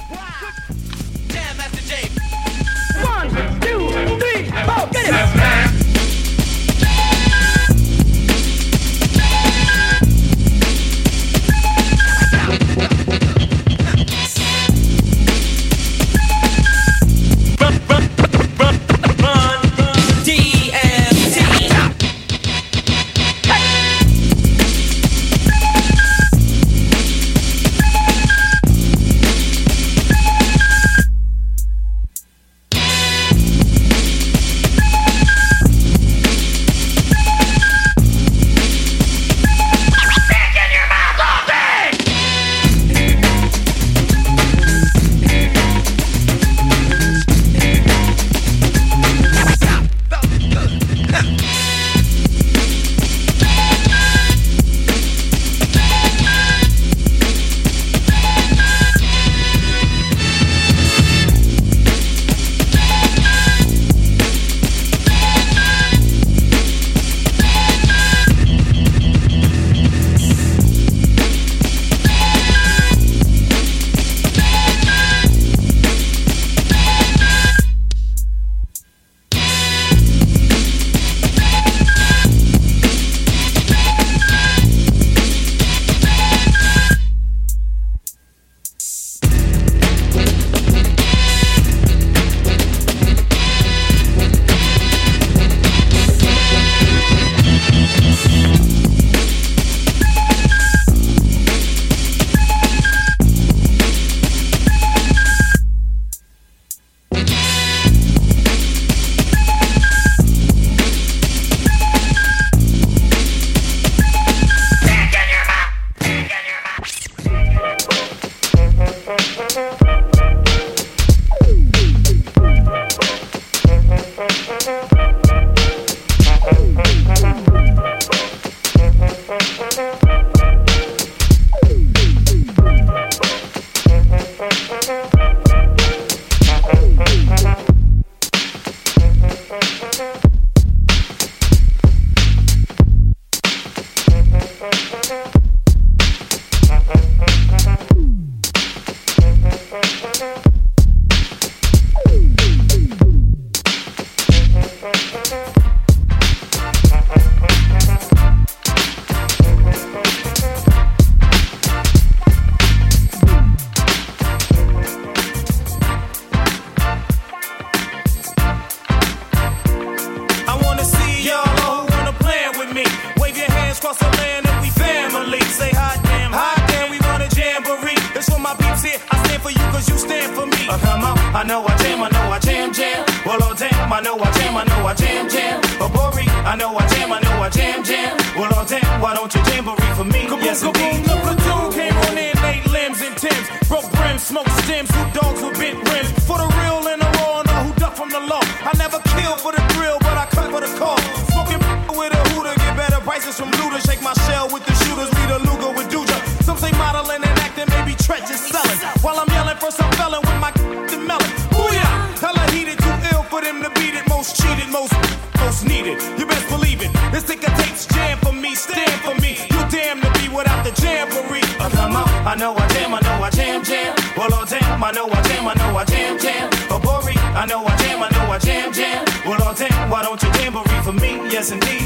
Uh, come on, I know I jam, I know I jam, jam. Well, oh damn, I know I jam, I know I jam, jam. Oh, Bori, I know I jam, I know I jam, jam. Well, oh damn, why don't you jamboree for me? Kaboom, Yes, kaboom, indeed. the platoon came on in, eight limbs and Timbs. Broke brims, smoked stems, two dogs with bent rims. For the real and the raw, know who duck from the law. I never kill for the thrill, but I cut for the call. Smoking with a hooter, get better prices from looters. Shake my shell with the shooters, lead a Luger with Duja. Some say modeling and acting, maybe treacherous selling. While I'm yelling for some felon with my melon. Booyah! Hella heated, too ill for them to beat it. Most cheated, most, most needed. You best believe it. This ticker tape's jam for me, stand for me. You damn to be without the jamboree. Uh, come on, I know I jam, I know I jam, jam. Well, oh damn, I know I jam, I know I jam, jam. Oh, Bori, I know I jam, I know I jam, jam. Well, oh damn, why don't you jamboree for me? Yes, indeed.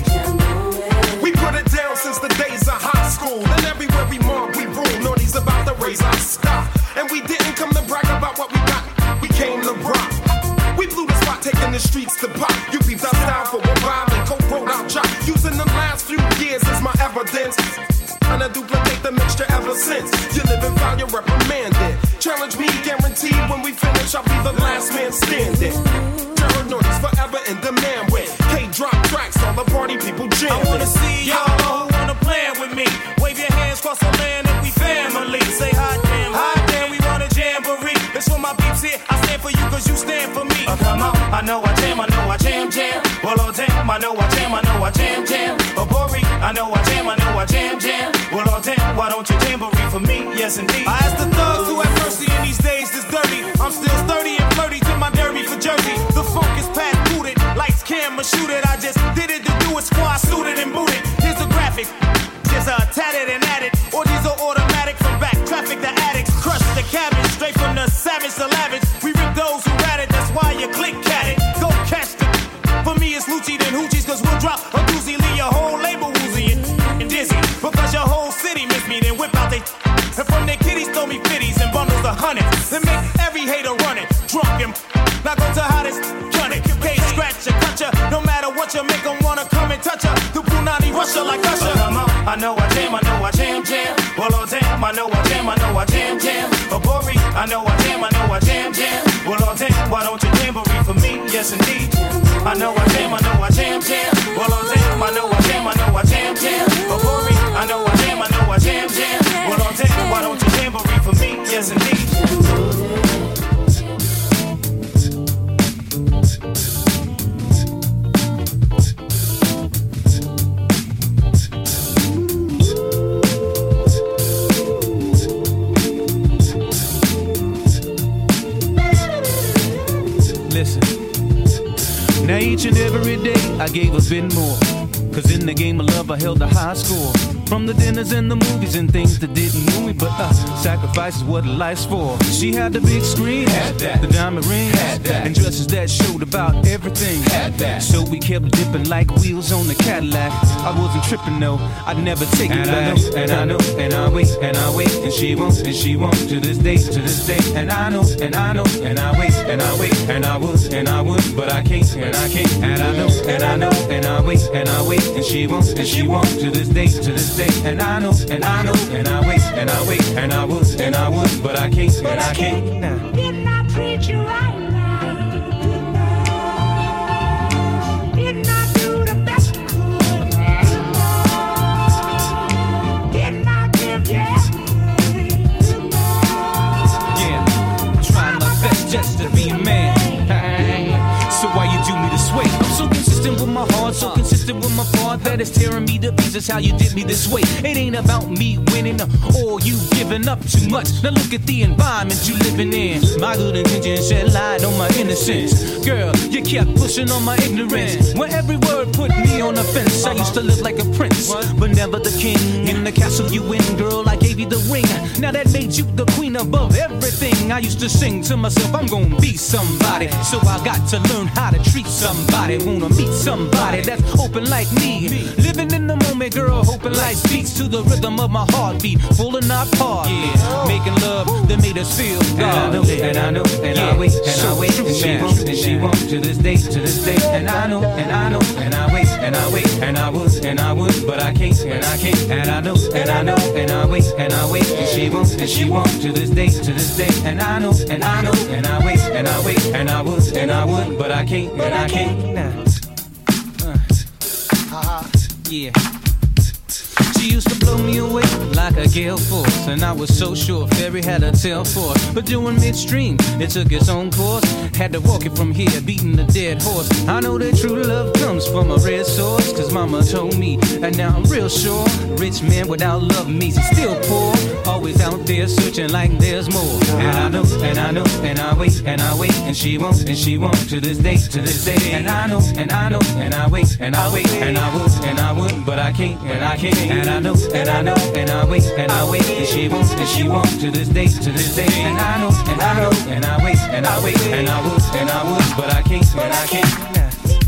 We put it down since the days of high school. And everywhere we mark, we rule. Naughty's about to raise our stock. And we didn't come to brag about what we got. We came to rock. We blew the spot, taking the streets to pop. You peeped our style for a while and Coke wrote our chop. Using the last few years as my evidence. And I duplicate the mixture ever since. You live and foul, you're reprimanded. Challenge me, guaranteed when we finish, I'll be the last man standing. Terror Naughty's forever in demand with K-drop tracks, all the party people jam. I wanna see y'all who wanna plan with me. Wave your hands across the land if we family. Say hot damn, hot damn, we want a jamboree. It's for my peeps here, I stand for you cause you stand for me. Uh, come on, I know I jam, I know I jam, jam. Well, oh damn, I know I jam, I know I jam, jam. Oh, Bori, I know I jam, I know I jam, jam. Well, oh damn, why don't you jamboree for me? Yes, indeed. I ask the thugs who have mercy in these days that's dirty. I'm still sturdy and flirty to my derby for Jersey. The funk is past booted, lights, camera, shoot it. I just did it to do it, squad suited and booted. Here's the graphic, just uh, tatted and added. Or these are automatic from back traffic to addicts. Crush the cabbage, straight from the savage to lavish. We rip those who rat it, that's why you click at it. Go catch the. For me it's Lucci then Hoochies, cause we'll drop a doozy, leave your whole label woozy and, and dizzy. Because your whole city miss me, then whip out they. And from their kitties throw me fifties and bundles of hundreds. Then make every hater run it, drunk and now go to hottest, run it. Can't scratch ya, cut ya, no matter what you make them wanna come and touch ya. The Punani Russia like Usher. Uh, come on, I know I jam, I know I jam, jam. Well, oh damn, I know I jam, I know I jam, jam. Oh, Bori, I know I jam, I know I jam, jam. Well, oh damn, why don't you jamboree for me? Yes, indeed. I know I jam, I know I jam, jam. Well, oh damn, I know I jam, I know I jam, jam. Oh, Bori, I know I jam, I know I jam, jam. Well, oh damn, why don't you jamboree for me? Yes, indeed. Listen, now each and every day I gave a bit more. Cause in the game of love I held a high score. From the dinners and the movies and things that didn't move me, but uh, sacrifice is what life's for. She had the big screen, had that. The diamond ring, had that. And dresses that showed about everything, had that. So we kept dipping like wheels on the Cadillac. I wasn't tripping though, I'd never take it back. And I know, and I wait, and I wait, and she won't, and she won't, to this day, to this day. And I know, and I know, and I wait, and I wait, and I would, and I would, but I can't, and I can't. And I know, and I know, and I wait, and I wait, and she won't, and she won't, to this day, to this day. And I know, and I know, and I wait, and I wait, and I would, and I would, but I can't, and I can't. Nah. Didn't I treat you right now? Didn't I do the best I could? Didn't I give you everything? Yeah, trying my best just to be a man. So why you do me this way? I'm so consistent with my heart, so consistent with my part that it's tearing me to pieces how you did me this way. It ain't about me winning or you giving up too much. Now look at the environment you living in. My good intentions shed light on my innocence. Girl, you kept pushing on my ignorance. Where every word put me on the fence. I used to live like a prince, but never the king. In the castle you win, girl, I gave you the ring. Now that made you the queen above everything. I used to sing to myself, I'm gonna be somebody. So I got to learn how to treat meet somebody, wanna meet somebody that's open like me. Living in the moment, girl, hoping life speaks to the rhythm of my heartbeat, full and not part. Yeah, making love that made us feel God. And I know, and I know, and I wait, and I wait, and she won't, and she won't to this day, to this day. And I know, and I know, and I wait, and I wait, and I would, and I would, but I can't, and I can't. And I know, and I know, and I wait, and I wait, and she won't, and she won't to this day, to this day. And I know, and I know, and I wait, and I wait, and I would, and I would, but I can't, and I can't. Nah. Uh, yeah. She used to blow me away like a gale force, and I was so sure Ferry had a tail for it. But during midstream, it took its own course. Had to walk it from here, beating a dead horse. I know that true love comes from a red source, cause mama told me, and now I'm real sure. Rich man without love means he's still poor. Always out there searching like there's more. And I know, and I know, and I wait, and I wait, and she won't, and she won't to this day, to this day. And I know, and I know, and I wait, and I wait, and I would, and I would, but I can't, and I can't. And I know, and I know, and I wait, and I wait, and she won't, and she won't to this day, to this day. And I know, and I know, and I wait, and I wait, and I would, and I would, but I can't, and I can't.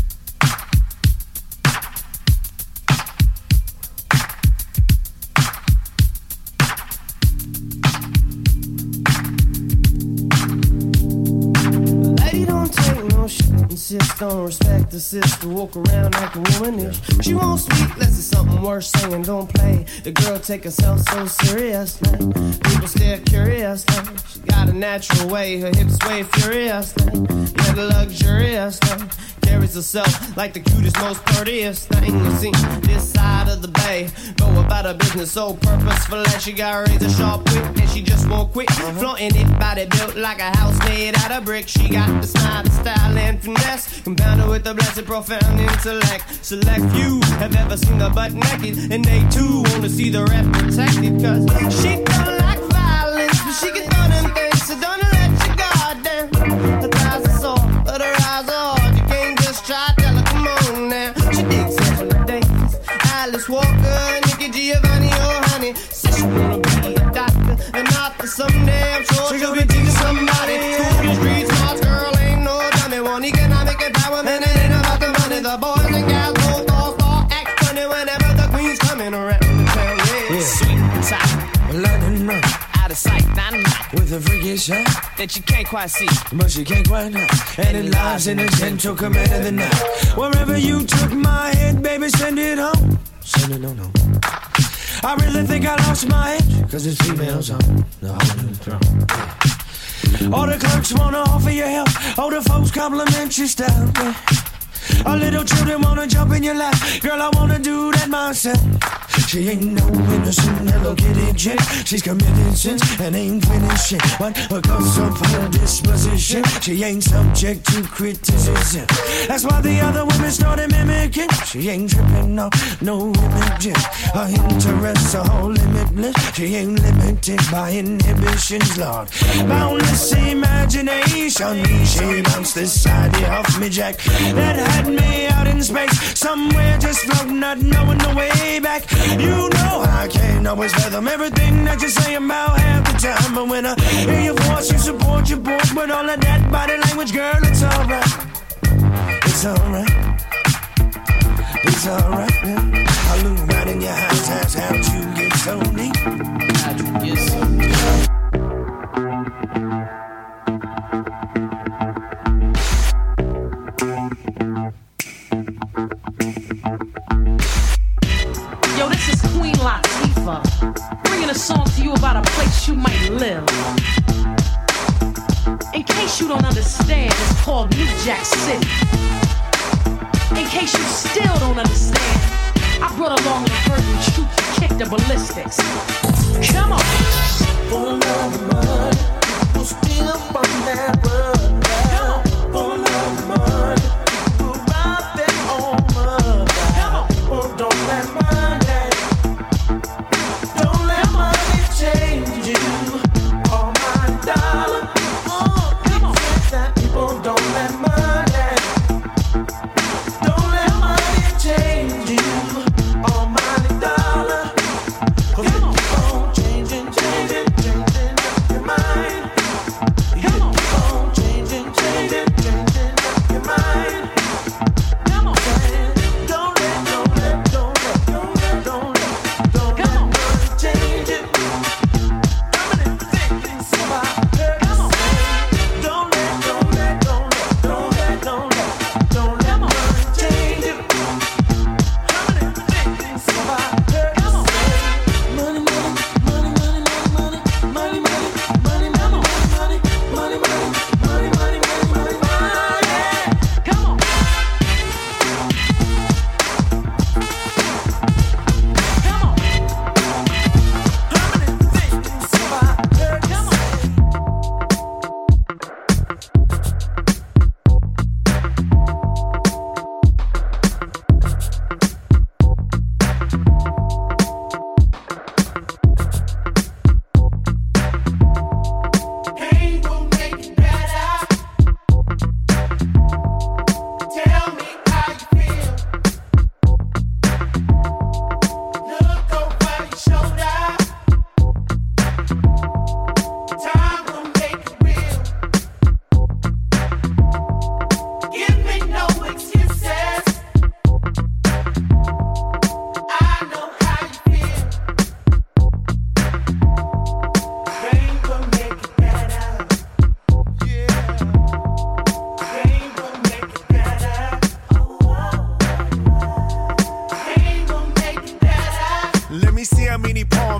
Insist on respect the sister, walk around like a womanish. She won't speak unless it's something worth saying. Don't play. The girl take herself so seriously. People stare curiously. She got a natural way, her hips sway furiously. Yet luxuriously. Carries herself like the cutest, most prettiest thing you see. This side of the bay, go about her business so purposeful that she got razor sharp wit and she just won't quit. Uh-huh. Flaunting it, body built like a house made out of brick. She got the smile, the style, and finesse, compounded with the blessed, profound intellect. Select few have ever seen her butt naked, and they too wanna see the rep protected. Cause she don't like violence, but she can throw them things, so don't let your guard down. Her thighs are soft, but her eyes are hard. You can't just try, tell her, come on now. She digs Angela Davis, Alice Walker, Nikki Giovanni, oh honey. Says she wanna be a doctor, and author someday. I'm sure she'll be teaching somebody. School the street smarts, girl ain't no dummy. One economic empowerment, it ain't about the money. The boys and gals both all fall act funny whenever the queen's coming around the town. Yeah, yeah. Sweet and tight, London run, out of sight, not night, with a freaky shot that you can't quite see, but you can't quite hide. And it lies in the gentle command of the night. Wherever you took my head, baby, send it home. Send it on home. I really think I lost my edge, cause it's females on the whole new throne. Yeah. All the clerks wanna offer you help, all the folks compliment your style. Yeah. All little children wanna jump in your lap, girl, I wanna do that myself. She ain't no innocent Hello Kitty chick. She's committed sins and ain't finished yet. But because of her disposition, she ain't subject to criticism. That's why the other women started mimicking. She ain't tripping, no, no imaging. Her interests are all limitless. She ain't limited by inhibitions, Lord. Boundless imagination. She bounced this side off me, Jack. That had me out in space, somewhere just floating, not knowing the way back. You know I can't always fathom everything that you say about half the time, but when I hear your voice, you support your boy with all of that body language, girl, it's alright. It's alright. It's alright, yeah. I look right in your eyes, eyes, how'd you get so neat? Yes. Yo, this is Queen Latifah, bringing a song to you about a place you might live. In case you don't understand, it's called New Jack City. In case you still don't understand, I brought along the verdant troop to kick the ballistics. Come on. Full of mud, people still from that road. Come on. Full of mud, people ride their own mud. Come on. People don't let money, don't let money change you. All my dollar, oh, come on. That people don't let money, don't let money change you. All my dollar, cause it keep on changing, changing, changing up your mind.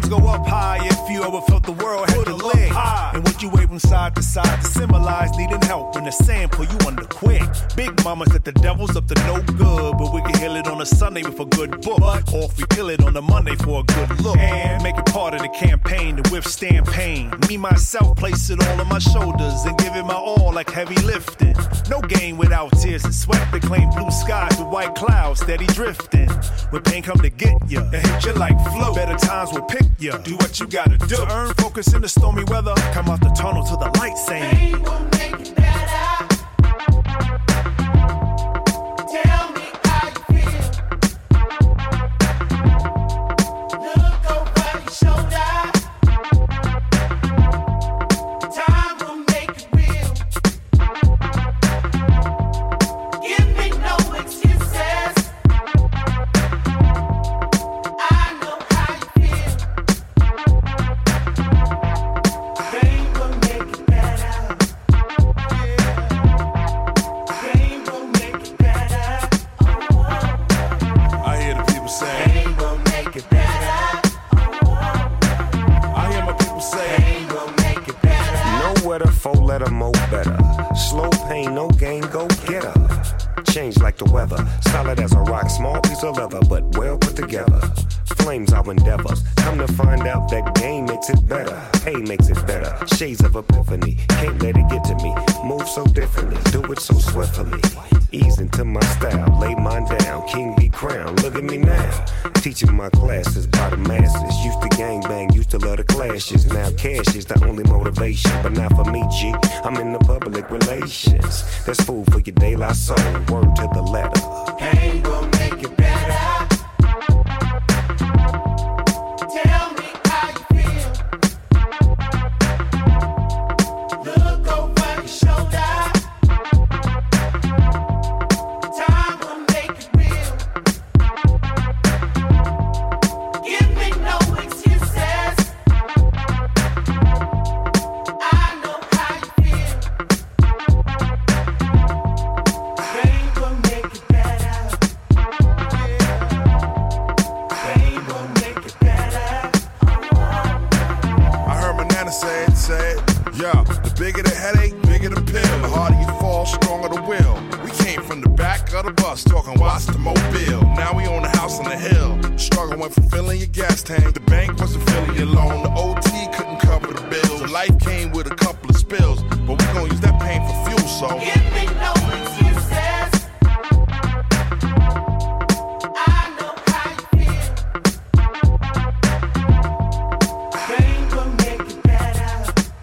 go up high if you ever felt the world had to lick. And what you wave from side to side to symbolize needing help when the sand pull you under quick. Big mama said the devil's up to no good, but we can heal it on a Sunday with a good book. Or if we kill it on a Monday for a good look. And make it part of the campaign to withstand pain. Me, myself, place it all on my shoulders and give it my all like heavy lifting. No game without tears and sweat. They claim blue skies with white clouds steady drifting. When pain come to get ya and hit you like flow, better times will pick ya. Do what you gotta do to earn focus in the stormy weather. Come out the tunnel to the light saying pain will make it better. Tell me how you feel. Look over your shoulder. Time will make it real. Give me no excuses. I know how you feel. Pain will make it better. Pain will make it better. I hear the people say pain will make it better. I hear my people say pain will make it better. Nowhere to four letter mo better. Slow pain, no gain, go get her. Change like the weather, solid as a rock, small piece of leather, but well put together. Flames our endeavors, come to find out that game makes it better. Hey makes it better, shades of epiphany, can't let it get to me. Move so differently, do it so swiftly. Ease into my style, lay mine down, king be crowned, look at me now. Teaching my classes by the masses, used to gangbang, used to love the clashes. Now cash is the only motivation, but not for me, G. I'm in the public relations. That's food for your De La Soul, word to the letter. Pain will make it better. Tell me how you feel. Look over your shoulder. Time will make it real. Give me no excuses. I know how you feel. Pain will make it better. Pain will make it better. I heard my nana say it, say it. Yeah, the bigger the headache, bigger the pill. The harder you fall, stronger the will. We came from the back of the bus, talking watch the mobile. Now we own a house on the hill. Struggle went from filling your gas tank. The bank wasn't filling your loan. The O T couldn't cover the bills. So life came with a couple of spills, but we gon' use that pain for fuel, so Give me no excuses. I know how you feel. Pain will make it better.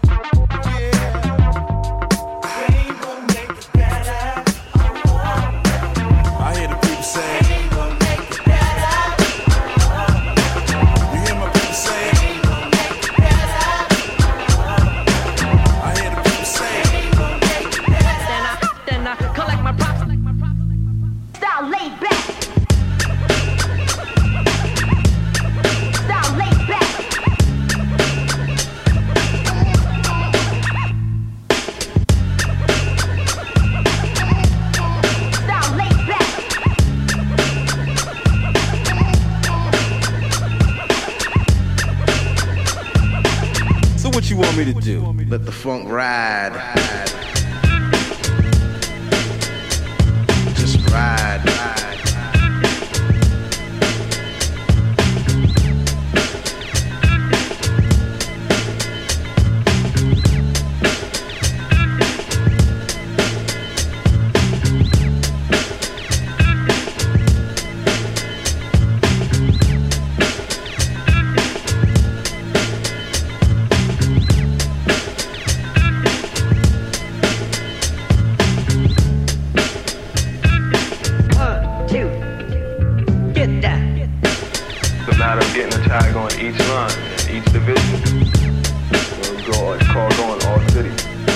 Pain will make it better. I hear the people say Pain will make it better. you hear my people say Pain will make it better. I hear the people say Pain will make it better. Then I, then I collect my props. Style laid back. Style laid back. Style laid back. So what you want me to do? Let the funk ride. Just ride. One, two, get that. It's a matter of getting a tag on each line, each division. We'll go, it's called going all city.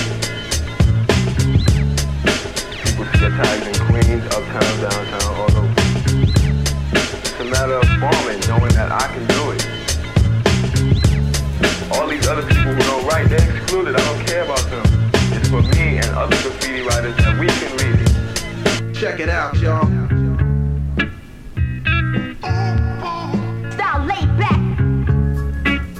People see their tags in Queens, uptown, downtown, all over. It's a matter of farming, knowing that I can do it. All these other people who don't write, they're excluded. I don't care about them. It's for me and other graffiti writers that we can read it. Check it out, y'all. Style laid back.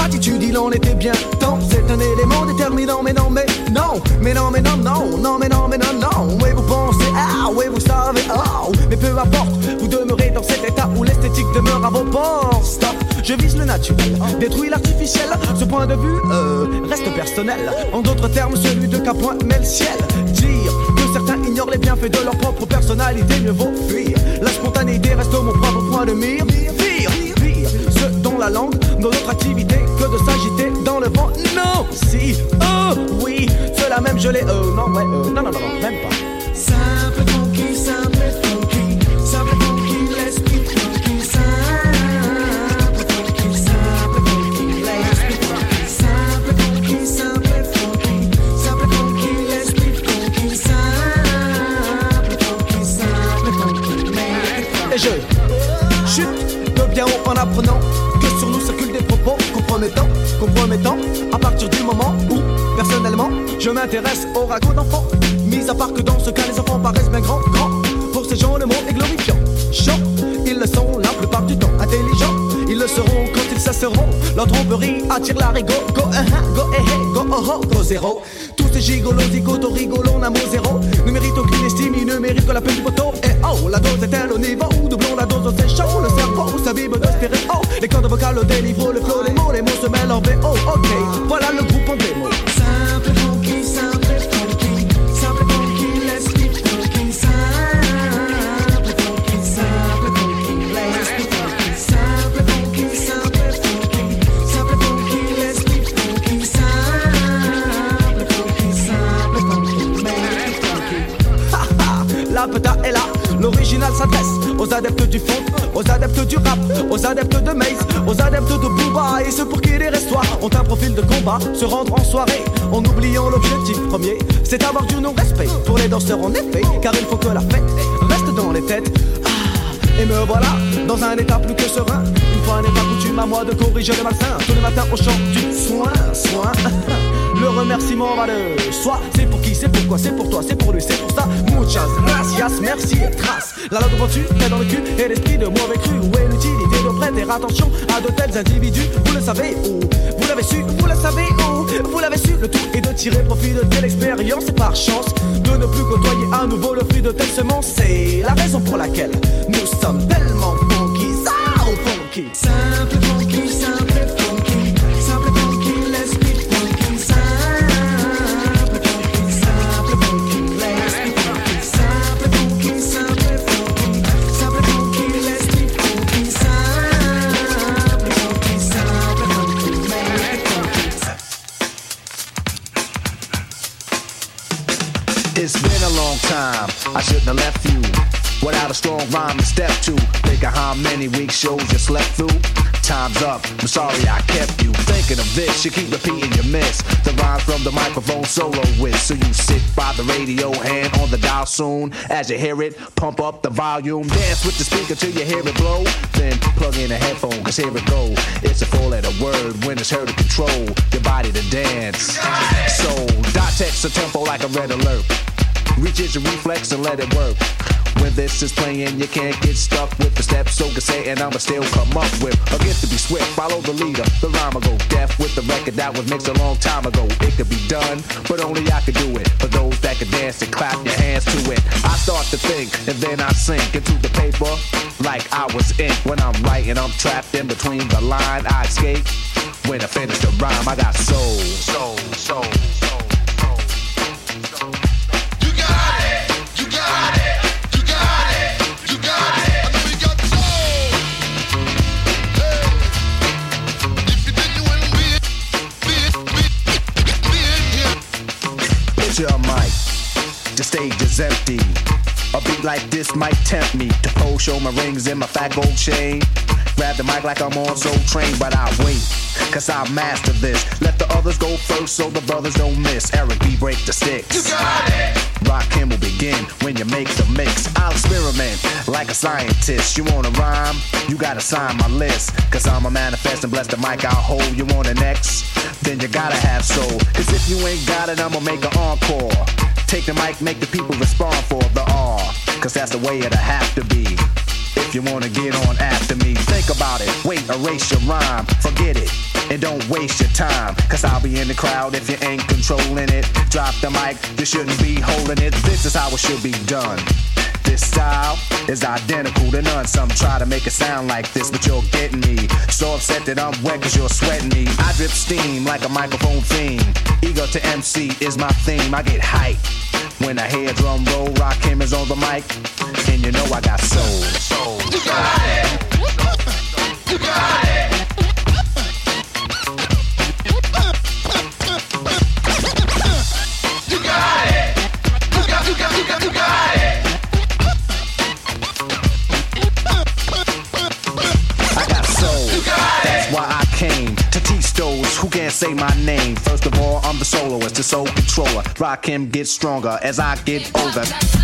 attitude, il en était bien temps. C'est un élément déterminant, mais non, mais non, mais non, mais non, non, non, mais non, mais non, non. Oui, vous pensez, ah, oui, vous savez, oh, mais peu importe, vous demeurez dans cet état où l'esthétique demeure à vos portes. Stop, je vise le naturel, détruis l'artificiel. Ce point de vue, euh, reste personnel. En d'autres termes, celui de qu'à point met le ciel. Dire que certains ignorent les bienfaits de leur propre personnalité, mieux vaut fuir. La spontanéité reste mon propre point de mire. Pire, pire, ce dont la langue, dans notre activité, que de s'agiter dans le vent. Non, si, oh, oui, cela même je l'ai, euh, non, ouais, euh, non, non, non, non, même pas. Simple funky, simple funky, simple funky, let's be funky, simple funky, simple funky, let's be funky, simple funky, simple funky, simple funky, let's be funky, simple funky, simple funky, let's be funky. Et je chute de bien haut en apprenant que sur nous circulent des propos compromettants, compromettants, à partir du moment où, personnellement, je m'intéresse aux ragots d'enfants. Mis à part que dans ce cas, les enfants paraissent bien grands, grands. Pour ces gens, le mot est glorifiant. Chants, ils le sont la plupart du temps. Intelligents, ils le seront quand ils cesseront. Leur tromperie attire la rigo. Go, uh, uh, go, eh, eh, go, oh, oh, go, zéro. Tous ces gigolos, zigotos, rigolons, un mot zéro. Ne méritent aucune estime, ils ne méritent que la peine du poteau. Et oh, la dose est-elle au niveau? Doublons la dose, c'est chaud. Le cerveau s'abîme de stéréo. Les cordes vocales, le délivre, le flow, les mots, les mots se mêlent en V O. Ok, voilà le groupe en démo. Simple funky, simple funky, simple funky, let's be funky, simple funky, simple funky, let's be funky, simple funky, simple funky, simple funky, let's be funky, simple funky, simple funky, let's be funky. Ha ha, la peta est là, l'original s'adresse aux adeptes du funk, aux adeptes du rap, aux adeptes de Maze, aux adeptes de Booba et ceux pour qui les restoirs ont un profil de combat, se rendre en soirée en oubliant l'objectif premier, c'est avoir du non-respect pour les danseurs en effet, car il faut que la fête reste dans les têtes. Ah, et me voilà dans un état plus que serein. Une fois n'est pas coutume à moi de corriger le malsain. Tous les matins au chant du soin, soin. Le remerciement va de soi. C'est pour qui, c'est pourquoi, c'est pour toi, c'est pour lui, c'est pour ça. Muchas gracias, merci et trace. La langue reçue est dans le cul et l'esprit de mauvais cru. Où est l'utilité de prêter attention à de tels individus? Vous le savez où? Vous l'avez su, vous le savez où? Vous l'avez su, le tout est de tirer profit de telle expérience et par chance de ne plus côtoyer à nouveau le fruit de telle semence. C'est la raison pour laquelle nous sommes tellement funky, ça funky. Simple funky, simple funky, simple funky, let's be funky, simple funky, simple funky, let's be funky, simple funky, simple funky, simple funky, let's be funky, simple funky, simple funky, let's be funky. It's been a long time, I shouldn't have left you without a strong rhyme to step to. Think of how many weeks shows you slept through. Time's up, I'm sorry I kept you thinking of this. You keep repeating your miss the rhymes from the microphone solo with. So you sit by the radio, hand on the dial soon. As you hear it, pump up the volume. Dance with the speaker till you hear it blow. Then plug in a headphone, cause here it go. It's a four letter word when it's heard to control your body to dance. So dot text a tempo like a red alert. Reaches your reflex and let it work. When this is playing, you can't get stuck with the steps. So can say, and I'ma still come up with a gift to be swift. Follow the leader, the rhyme go deaf with the record that was mixed a long time ago. It could be done, but only I could do it. For those that can dance and clap your hands to it. I start to think, and then I sink into the paper like I was ink. When I'm writing, I'm trapped in between the line. I escape when I finish the rhyme. I got soul, soul, soul, soul. Your mic, the stage is empty. A beat like this might tempt me to pose, show my rings and my fat gold chain. Grab the mic like I'm on Soul Train, but I wait, cause I master this. Let the others go first so the brothers don't miss. Eric B, break the sticks. You got it. Rock him will begin when you make the mix. I'll experiment like a scientist. You wanna rhyme? You gotta sign my list. Cause I'm a manifest and bless the mic I'll hold. You want an X? Then you gotta have soul. Cause if you ain't got it, I'ma make an encore. Take the mic, make the people respond for the R. Cause that's the way it'll have to be. If if you wanna get on after me. Think about it, wait, erase your rhyme, forget it. And don't waste your time, cause I'll be in the crowd if you ain't controlling it. Drop the mic, you shouldn't be holding it. This is how it should be done. This style is identical to none. Some try to make it sound like this, but you're getting me so upset that I'm wet cause you're sweating me. I drip steam like a microphone fiend. Ego to M C is my theme. I get hype when I hear drum roll. Rakim is on the mic, and you know I got soul. soul. You got it. You got it. You got it. You got, you got, you got, you got it. That's why I came to teach those who can't say my name. First of all, I'm the soloist, the soul controller. Rakim gets stronger as I get older.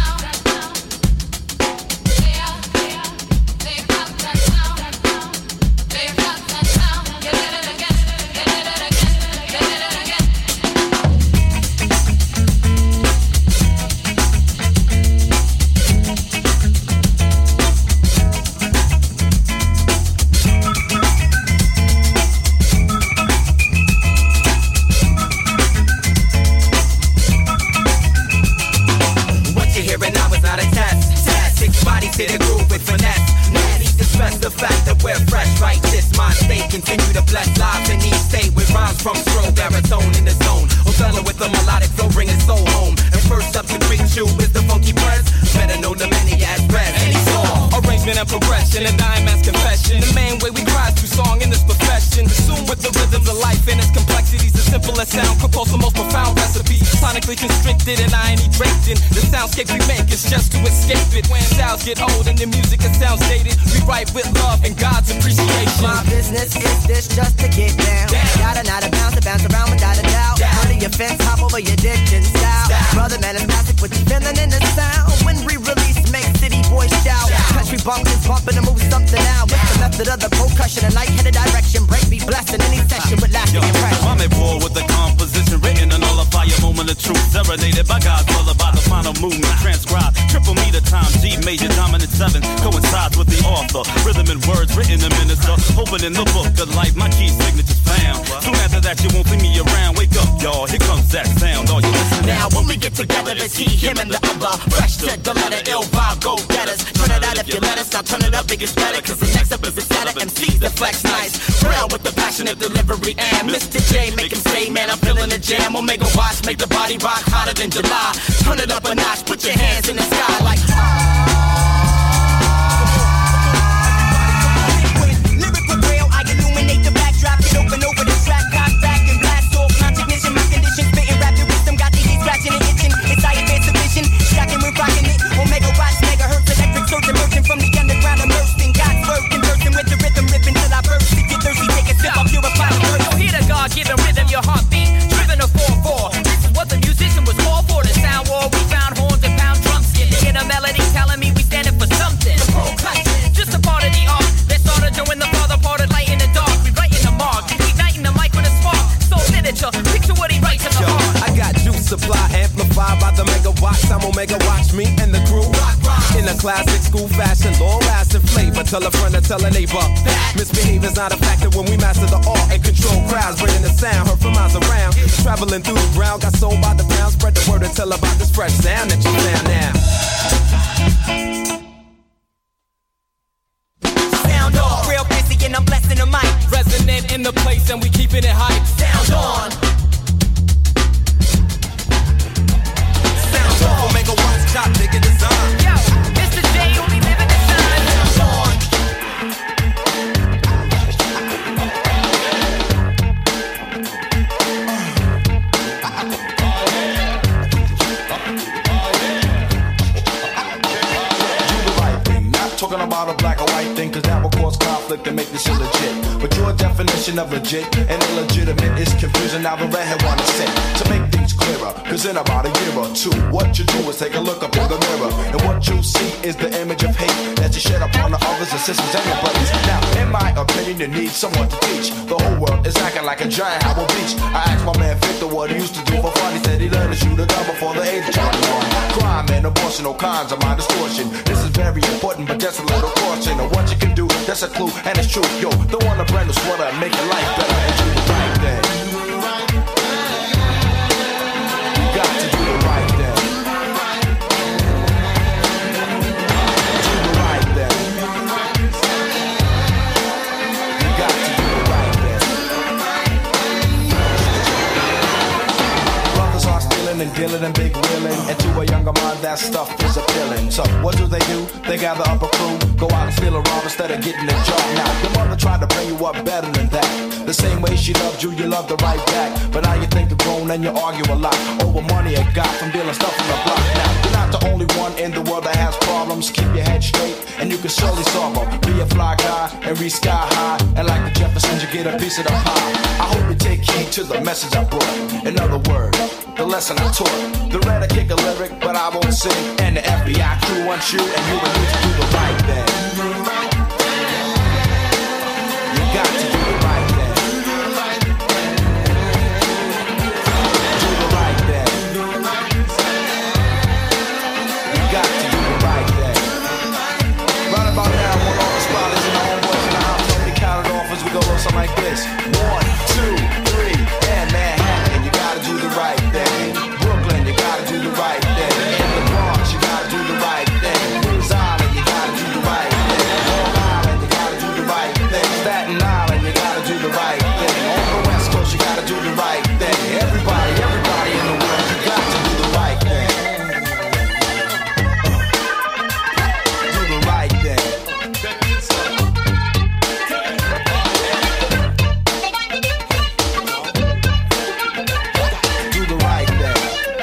To the groove with finesse. Natty to stress the fact that we're fresh, right? This mind state continue to bless lives in each state with rhymes from strobe, baritone in the zone. Othello with a melodic flow, bringing soul home. And first up to greet you is the funky press. Better know the many as rest. Any song, arrangement and progression, and dime as confession. The main way we cry through song in this profession. Consumed with the rhythms of life and its complexities. The simplest sound compose the most profound recipes. Sonically constricted and I ain't draped in. The soundscape we make is just to escape it. When styles get old and the music it sounds dated, we write with love and God's appreciation. My business is this just to get down. down. Gotta not a bounce to bounce around without a doubt. Under your fence, hop over your ditch and style. style. Brother man is classic with the feeling in the sound. When re-release, make city boys shout. shout. Country bumpers bumping to move something out. With the method of the percussion and light-headed direction. Break me blessed in any session with lasting impression. I'm bored with the composition written and nullify your moment of truth. Serenaded by God's brother by the final movement. Transcribed, triple meter time, G major dominant seven. Coincides with the author. Rhythm and words written to minister. Opening the book of life, my key signature's found. Soon after that, you won't see me around. Wake up, y'all, here comes that sound. All you listen now, when we get together to see him and the other. Fresh to the letter, ill vibe, go get us. Turn it out if you let us, now turn it up, biggest better. Cause the next up is the setter, M Cs that flex nice. Real with the passionate delivery and Mister J, make him say, man, I'm feeling the jam. Omega watch, make the body rock hotter than July. Turn it up a notch, put your hands in the sky like lyrical rail, I illuminate the backdrop, get open over the track, cock back and blast off. Non-technician, my condition, spitting rapid wisdom, got these scratching and itching. It's I advance the vision, stacking with rocking it. Omega watch, megahertz, electric surge emerging from the underground, immersed in God's word, conversing with the rhythm, ripping till I burst. If you're thirsty, take a sip, I'll purify the earth. Yo, hear the God-given rhythm, your heartbeat, driven a four four. This is what the musician was called for. The sound war, we found horns and pound drums. You hear the melody telling me we standing for something. Just a part of the art that started doing the father parted light in the dark. We writing the mark, igniting the mic with a spark. So literature, picture what he writes in the Yo, heart. I got juice supply amplified by the megawatts. I'm Omega watch me and the crew rock, rock. In a classic school fashion, long lasting flavor. Tell a friend or tell a neighbor that misbehavior's not a factor when we master the art and control crowds, bringing the sound heard from miles around. Traveling through the ground, got sold by the pound. Spread the word and tell about this fresh sound that you found now. Sound off, real busy and I'm blessing the mic. Resonant in the place and we keeping it hype. Sound on. Sound off. Omega watch, top nigga design. Yo, Mister J, only living the sun. Sound on. Talking about a black or white thing, cause that will cause conflict. conflict and make this shit legit. But your definition of legit and illegitimate is confusing. Now the redhead wanna say to make things clearer, cause in about a year or two, what you do is take a look up in the mirror, and what you see is the image of hate that you shed upon the others and sisters and your brothers. Now, in my opinion, you need someone to teach. The whole world is acting like a giant Howard Beach. I asked my man Victor what he used to do for fun. He said he learned to shoot a gun before the age of twenty-one. Crime and abortion, all kinds of my distortion. This is very important, but just a little caution of what you can do. That's a clue, and it's true. Yo, don't want a brand new sweater and make your life better and do the right thing. You got to do the right thing. Do the right thing. You got to do the right thing. Brothers are stealing and dealing and big wheeling, and to a younger mind that stuff is appealing. So what do they do? They gather up a crew, go out and steal a rob instead of getting a job. Now your mother tried to bring you up better than that. The same way she loved you, you loved her right back. But now you think you're grown and you argue a lot over money you got from dealing stuff on the block. Now you're not the only one in the world that has problems. Keep your head straight and you can surely solve them. Be a fly guy and reach sky high, and like the Jeffersons you get a piece of the pie. I hope you take heed to the message I brought. In other words, the lesson I taught. The red I kick a lyric, but I won't sing. And the F B I crew wants you, and you will need to do the right thing. You got to do the right thing. Do the right thing. You got to do the right thing. Right about now, one all the spotters and the homeboys in the house. Let me count it off as we go on something like this. One, two, three, and Manhattan, you gotta do the right thing. Brooklyn, you gotta do the right thing. In the Bronx, you gotta do the right thing. Rhode Island, you gotta do the right thing. Long Island, you gotta do the right thing. Staten Island, you gotta do the right thing. On the West Coast, you gotta do the right thing. Everybody, everybody in the world, you got to do the right thing. Do the right thing. Do the right thing.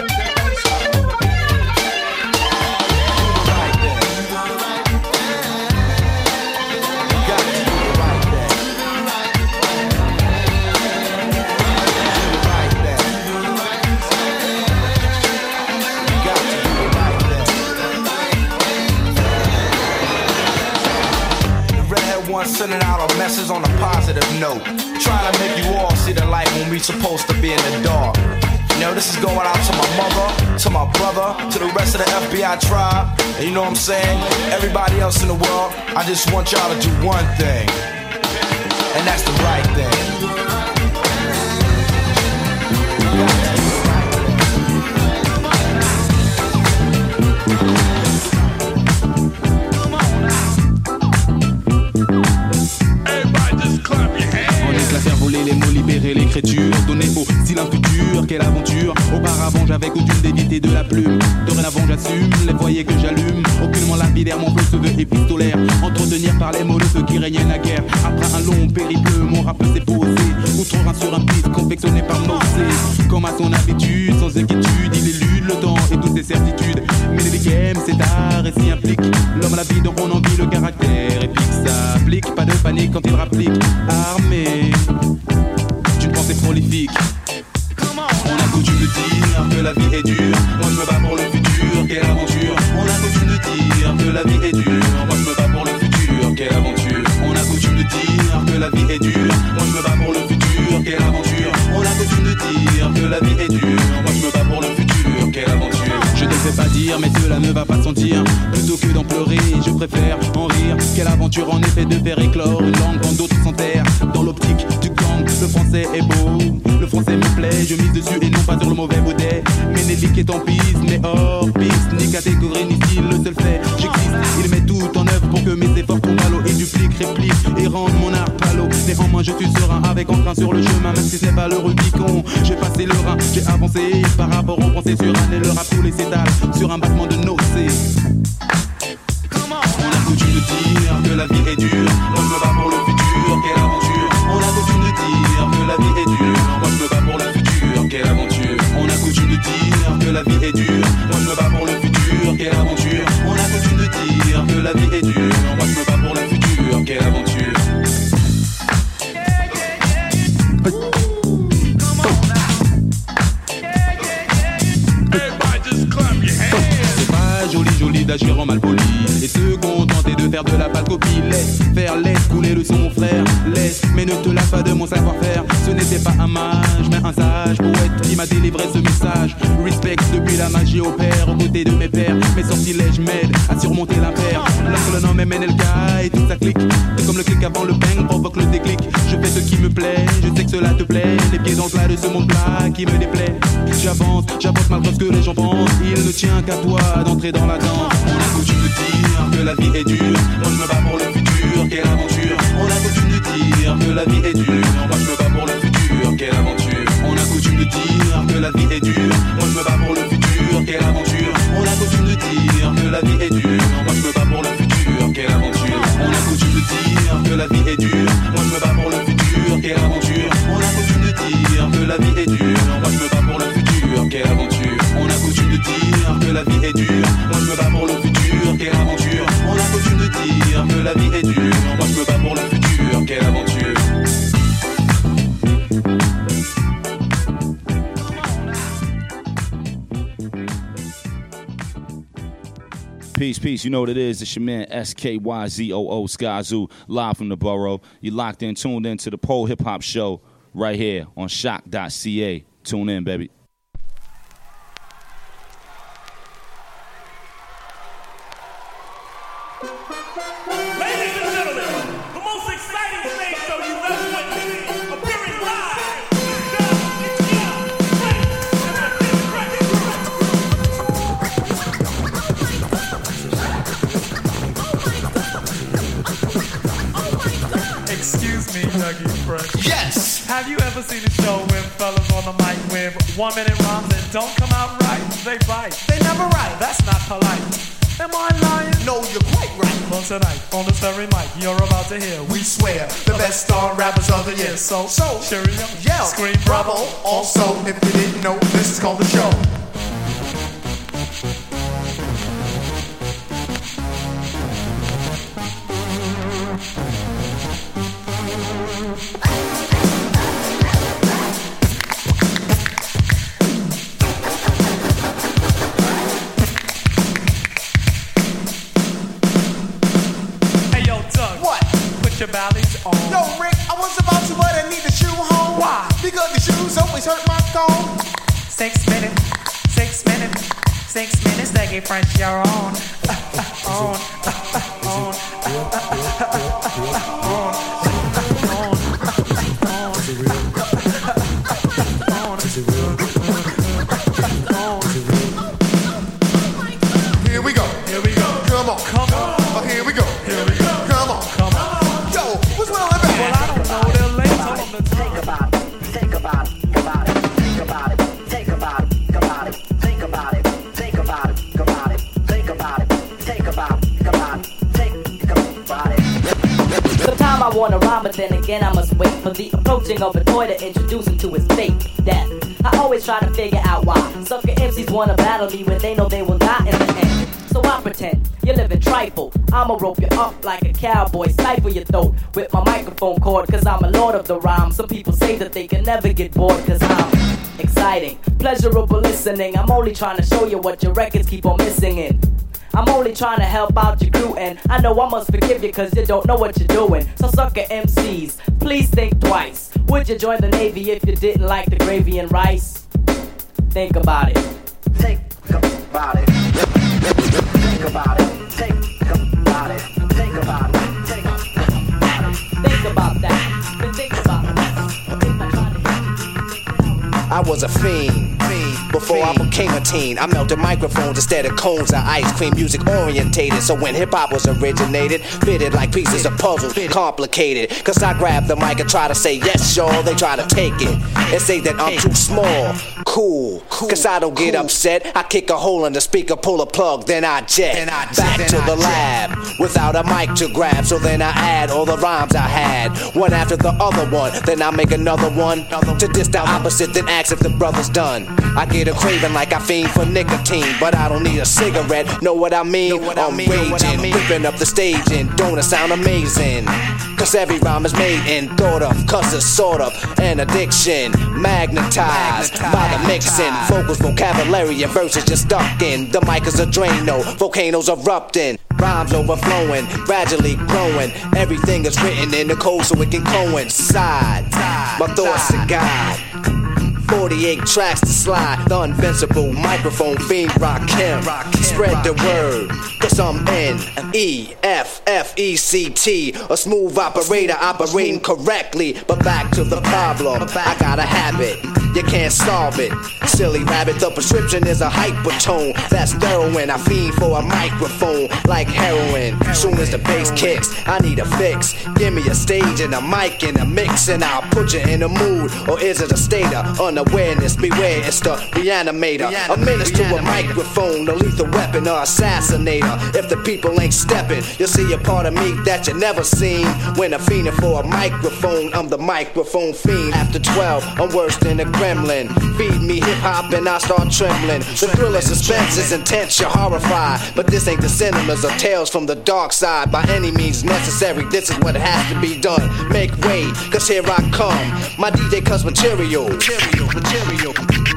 Sending out a message on a positive note, trying to make you all see the light when we supposed to be in the dark. You know, this is going out to my mother, to my brother, to the rest of the F B I tribe, and you know what I'm saying? Everybody else in the world, I just want y'all to do one thing, and that's the right thing. Les mots, libérer l'écriture, donner au style un futur, quelle aventure. Auparavant j'avais coutume d'éviter de la plume. Dorénavant j'assume les foyers que j'allume. Aucunement lapidaire, mon flow se veut épistolaire. Entretenir par les mots le feu qui régnait naguère. Après un long périple, mon rap s'est posé. Outre-Rhin sur un beat confectionné par Mosé. Comme à son habitude, sans inquiétude, il élude le temps et toutes ses certitudes. Mais les games, c'est art et s'y implique. L'homme à la vie dont on envie le caractère épique s'applique. Pas de panique quand il rapplique. Armé d'une pensée prolifique. On a coutume de dire que la vie est dure. Moi je me bats pour le futur, quelle aventure. On a coutume de dire que la vie est dure. Moi je me bats pour le futur, quelle aventure. On a coutume de dire que la vie est dure. Moi je me bats pour le futur, quelle aventure. On a coutume de dire que la vie est dure. Moi je me bats pour le futur, quelle aventure. Je ne sais pas dire, mais cela ne va pas sentir. Plutôt que d'en pleurer, je préfère en rire. Quelle aventure en effet de faire éclore une langue quand d'autres s'enterrent. Dans l'optique du gang, le français est beau. Le français me plaît, je mise dessus et non pas sur le mauvais baudet. Ménélique est en piste, mais hors piste. Ni catégorie ni style, le seul fait, j'existe. Il met tout en œuvre pour que mes efforts tombent à l'eau. Il duplique, réplique et rende mon art palo. Néanmoins je suis serein avec entrain sur le chemin. Même si c'est pas le Rubicon, j'ai passé le Rhin. J'ai avancé par rapport aux pensées sur un. Et le rap tous les s'étale sur un battement de nocées. On a coutume de dire que la vie est dure. Moi je me bats pour le futur, quelle aventure. On a coutume de dire que la vie est dure. Moi je me bats pour le futur, quelle aventure. On a coutume de dire que la vie est dure. Moi je me bats pour le futur, quelle aventure. On a coutume de dire que la vie est dure. Moi je me bats pour le futur, quelle aventure. faire de la pâle copie. Laisse faire, laisse couler le son mon frère. Laisse, mais ne te lasse pas de mon savoir-faire. Ce n'était pas un mage, mais un sage poète qui m'a délivré ce message. Respect depuis la magie opère aux côtés de mes pères. Mes sortilèges m'aident à surmonter l'impair. Lorsque le nom est M N L K et tout ça clique. C'est comme le clic avant le bang provoque le déclic. Je fais ce qui me plaît, je sais que cela te plaît. Les pieds dans le plat de ce monde plat qui me déplaît. J'avance, j'avance malgré ce que les gens pensent. Il ne tient qu'à toi d'entrer dans la danse. On a coutume de dire que la vie est dure. Moi je me bats pour le futur, quelle aventure. On a coutume de dire que la vie est dure. Moi je me bats pour le futur, quelle aventure. On a coutume de dire que la vie est dure. Moi je me bats pour le futur, quelle aventure. On a coutume de dire que la vie est dure. Moi je me bats pour le futur, quelle aventure. On a coutume de dire que la vie est dure. Moi je me bats pour le futur, quelle aventure. On a coutume de dire que la vie est dure. Moi je me bats pour le futur, quelle aventure. On a coutume de dire que la vie est dure. Moi je me bats pour le futur, quelle aventure. On a coutume de dire que la vie est dure. Moi je me bats pour le futur, quelle aventure. Peace, peace. You know what it is. It's your man S K Y Z O O Skyzoo, live from the borough. You locked in, tuned in to the Pole Hip Hop Show right here on shock dot c a. Tune in, baby. Ladies and gentlemen, the most exciting stage show you've ever witnessed, appearing live. Excuse me, Dougie Fresh. Yes! Have you ever seen a show with fellas on the mic with one minute rhymes that don't come out right? They bite. They never write. That's not polite. Am I lying? No, you're quite right. Well, tonight, on this very mic, you're about to hear. We swear, the best star rappers of the year. So, so, cheerio, yell, scream, bravo. Also, if you didn't know, this is called the show. Your bally's on. Yo, Rick, I was about to, but I need the shoe home. Why? Because the shoes always hurt my thumb. Six minutes, six minutes, six minutes, they get French, you're on. on, on, on, on. Here we go. Here we go. Come on. Come on. Oh, here we go. Here we go. Come on. Come on. Yo, what's wrong with that? Well, I don't know. They're late. Tell them to Think about it. Think about it. About it. Think about it. Think about it. About it. Think about it. Think about it. About it. Think about it. Think about it. About it. Think about it. Sometimes I wanna rhyme, but then again I must wait for the approaching of a toy to introduce him to his fate, death. I always try to figure out why sucker M Cs wanna battle me when they know they will die in the end. So I pretend you're living trifle. I'ma rope you up like a cowboy, stifle your throat with my microphone cord, cause I'm a lord of the rhyme. Some people say that they can never get bored, cause I'm exciting, pleasurable listening. I'm only trying to show you what your records keep on missing in. I'm only trying to help out your crew, and I know I must forgive you cause you don't know what you're doing. So sucker M Cs, please think twice. Would you join the Navy if you didn't like the gravy and rice? Think about it. Think about it. Think about it. Think about it. Think about it. Think about it. Think about that. Then think about it. I was a fiend, fiend before I became a teen. I melted microphones instead of cones of ice cream, music orientated. So when hip hop was originated, fitted like pieces of puzzles, complicated. Cause I grab the mic and try to say yes, y'all. They try to take it and say that I'm too small. Cool, cause I don't get upset. I kick a hole in the speaker, pull a plug, then I jet back to the lab without a mic to grab. So then I add all the rhymes I had, one after the other one. Then I make another one to diss the opposite, then ask if the brother's done. I get a craving like I fiend for nicotine, but I don't need a cigarette. Know what I mean? I'm raging, ripping up the stage, and don't it sound amazing? Cause every rhyme is made and thought of, cause it's sort of an addiction, magnetized by the mixing. Vocals, vocabulary, and verses just stuck in. The mic is a Drano, volcanoes erupting. Rhymes overflowing, gradually growing. Everything is written in the code so it can coincide. My thoughts are God. forty-eight tracks to slide. The invincible microphone fiend Rakim. Spread the word, cause I'm N E F F E C T. A smooth operator operating correctly. But back to the problem, I got a habit, you can't solve it. Silly rabbit, the prescription is a hypertone. That's heroin, I fiend for a microphone like heroin. Soon as the bass kicks, I need a fix. Give me a stage and a mic and a mix, and I'll put you in a mood. Or is it a state of unawareness? Beware, it's the reanimator. A menace to a microphone, a lethal weapon or assassinator. If the people ain't stepping, you'll see a part of me that you never seen. When I'm fiending for a microphone, I'm the microphone fiend. After twelve, I'm worse than a gremlin. Feed me hip-hop and I start trembling. The thrill of suspense is intense, you're horrified. But this ain't the cinemas or tales from the dark side. By any means necessary, this is what has to be done. Make way, cause here I come. My D J cuts material. Material, material.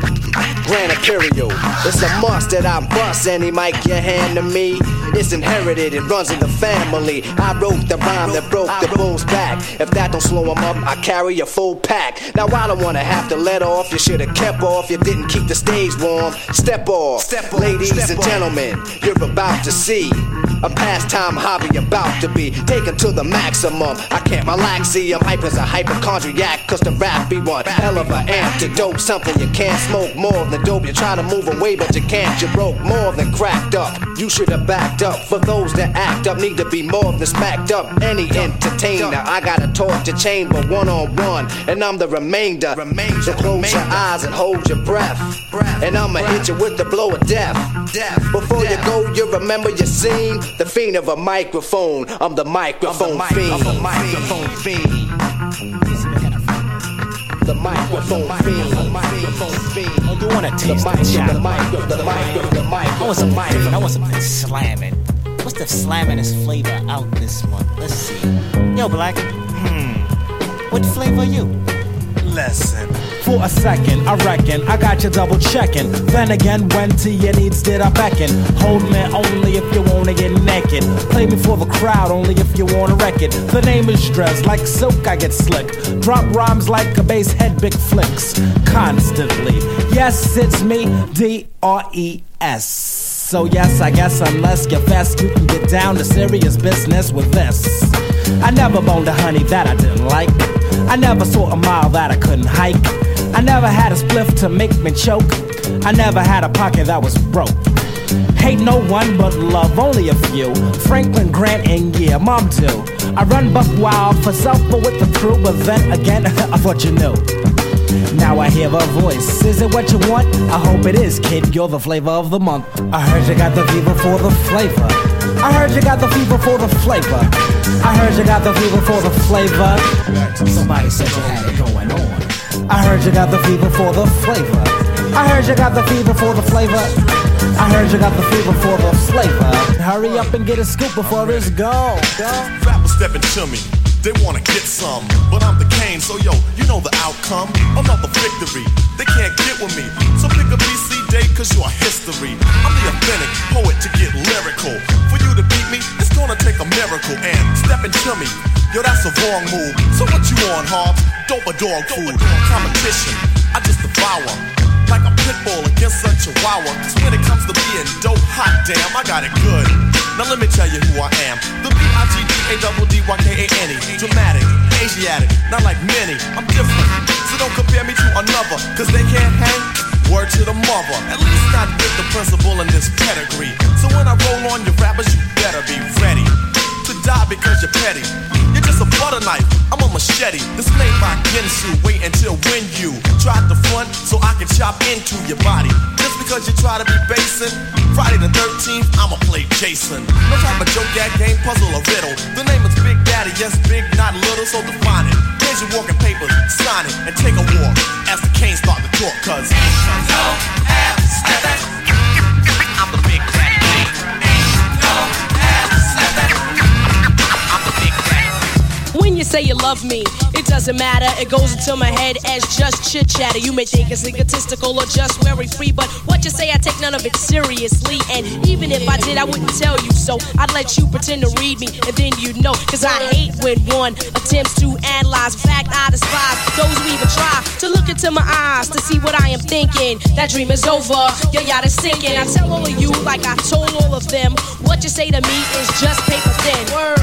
Grand Imperial. It's a must that I bust any mic you hand to me. It's inherited, it runs in the family. I wrote the rhyme that broke the bull's back. If that don't slow him up, I carry a full pack. Now I don't wanna have to let off. You should've kept off, you didn't keep the stage warm. Step off, Step off. Ladies Step and off. Gentlemen, you're about to see a pastime hobby about to be taken to the maximum. I can't relax, see I'm hype as a hypochondriac. Cause the rap be one hell of an antidote. Something you can't smoke more than dope. You try to move away but you can't. You broke more than cracked up. You should have backed up. For those that act up need to be more than smacked up. Any entertainer, I got a torture chamber one on one, and I'm the remainder. So close your eyes and hold your breath, and I'ma hit you with the blow of death. Before you go, you remember your scene. The fiend of a microphone. I'm the microphone fiend. The microphone fiend. The microphone fiend. The microphone fiend. Oh, you wanna taste the mic? The mic. The mic. The mic. I want something different. I want something slamming. What's the slamminest flavor out this month? Let's see. Yo, Black. Hmm. What flavor are you? Lesson. For a second, I reckon I got you double checking. Then again, when to your needs did I beckon? Hold me only if you wanna get naked. Play me for the crowd only if you wanna wreck it. The name is Dress, like silk I get slick. Drop rhymes like a bass head, big flicks. Constantly. Yes, it's me, D R E S. So yes, I guess unless you're fast, you can get down to serious business with this. I never boned a honey that I didn't like. I never saw a mile that I couldn't hike. I never had a spliff to make me choke. I never had a pocket that was broke. Hate no one but love only a few. Franklin Grant and yeah, Mom too. I run buck wild for self but with the crew. But then again, I thought you knew. Now I hear a voice. Is it what you want? I hope it is, kid. You're the flavor of the month. I heard you got the fever for the flavor. I heard you got the fever for the flavor. I heard you got the fever for the flavor. Somebody said you had it going on. I heard you got the fever for the flavor. I heard you got the fever for the flavor. I heard you got the fever for the flavor. Hurry up and get a scoop before it's gone. Rappers stepping to me. They wanna get some, but I'm the Kane, so yo, you know the outcome. I'm not the victory, they can't get with me. So pick a B C date, cause you are history. I'm the authentic poet to get lyrical. For you to beat me, it's gonna take a miracle. And stepping to me, yo, that's a wrong move. So what you on, Hobbs? Dope or dog food? Competition, I just devour. Like a pit bull against a chihuahua. Cause when it comes to being dope, hot damn, I got it good. Now let me tell you who I am. The B I G D A D D Y K A N E. Dramatic, Asiatic, not like many. I'm different, so don't compare me to another. Cause they can't hang, word to the mother. At least not with the principal in this pedigree. So when I roll on your rappers, you better be ready to die because you're petty. You're just a butter knife, I'm a machete. This made by Ginsu, wait until when you try to front so I can chop into your body. Just because you try to be basing, Friday the thirteenth, I'ma play Jason. No type of joke, that game, puzzle, or riddle. The name is Big Daddy, yes, big, not little, so define it. Here's your walking papers, sign it, and take a walk as the Canes start to talk, cause ain't no half stepping. I'm the Big Daddy. When you say you love love me. It doesn't matter, it goes into my head as just chit chatter. You may think it's egotistical or just very free, but what you say, I take none of it seriously. And even if I did, I wouldn't tell you so. I'd let you pretend to read me, and then you'd know. Cause I hate when one attempts to analyze. In fact, I despise those who even try to look into my eyes to see what I am thinking. That dream is over, your yacht is sinking. I tell all of you, like I told all of them, what you say to me is just paper thin. Word.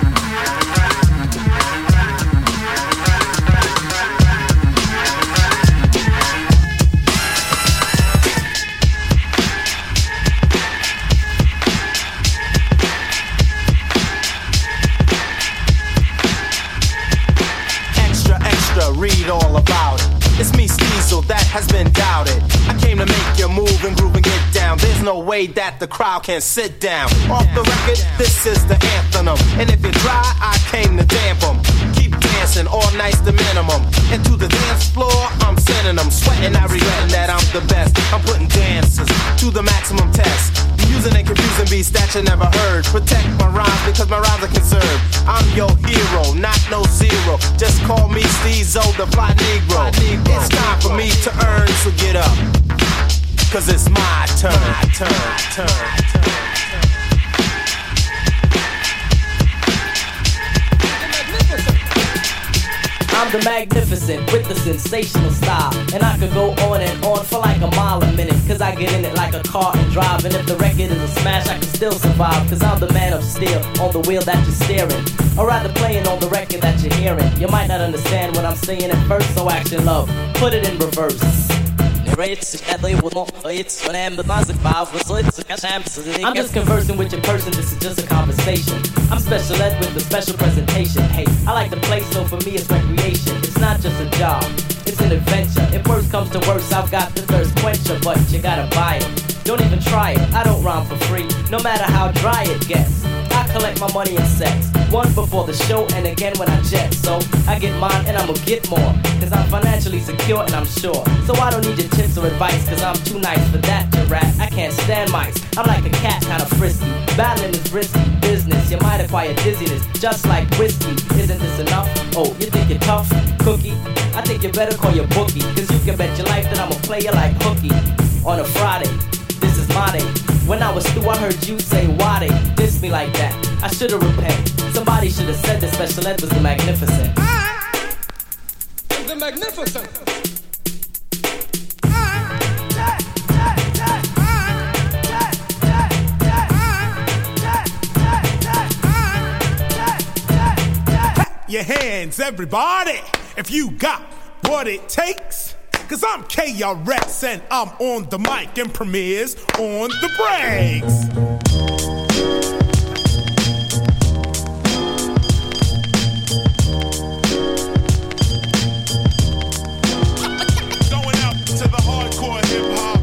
Read all about it. It's me, Steezel, that has been doubted. I came to make you move and groove and get down. There's no way that the crowd can sit down. Off the record, this is the anthem. And if you try, I came to damp them. Keep dancing, all night's the minimum. And to the dance floor, I'm sending them. Sweating, I regretting that I'm the best. I'm putting dancers to the maximum test. Using and confusing beats that you never heard. Protect my rhymes because my rhymes are conserved. I'm your hero, not no zero. Just call me Steezo, the fly Negro. It's time for me to earn, so get up. Cause it's my turn, my turn, turn, turn. I'm the magnificent with the sensational style. And I could go on and on for like a mile a minute. Cause I get in it like a car and drive. And if the record is a smash, I can still survive. Cause I'm the man of steel on the wheel that you're steering. Or rather playing on the record that you're hearing. You might not understand what I'm saying at first, so action love, put it in reverse. I'm just conversing with your person, this is just a conversation. I'm special ed with a special presentation. Hey, I like to play, so for me it's recreation. It's not just a job, it's an adventure. If worse comes to worse, I've got the thirst quencher. But you gotta buy it, don't even try it. I don't rhyme for free, no matter how dry it gets. I collect my money in sets, one before the show and again when I jet. So I get mine and I'ma get more, cause I'm financially secure and I'm sure. So I don't need your tips or advice, cause I'm too nice for that to rap. I can't stand mice, I'm like a cat, kinda frisky. Battling is risky business, you might acquire dizziness, just like whiskey. Isn't this enough? Oh, you think you're tough? Cookie? I think you better call your bookie, cause you can bet your life that I'ma play you like hooky. On a Friday, this is my day. When I was through, I heard you say, why they diss me like that? I should've repent. Somebody should've said that special ed was the magnificent. The magnificent. Your hands, everybody, if you got what it takes. Cause I'm K R S and I'm on the mic and Premier's on the breaks. Going out to the hardcore hip hop.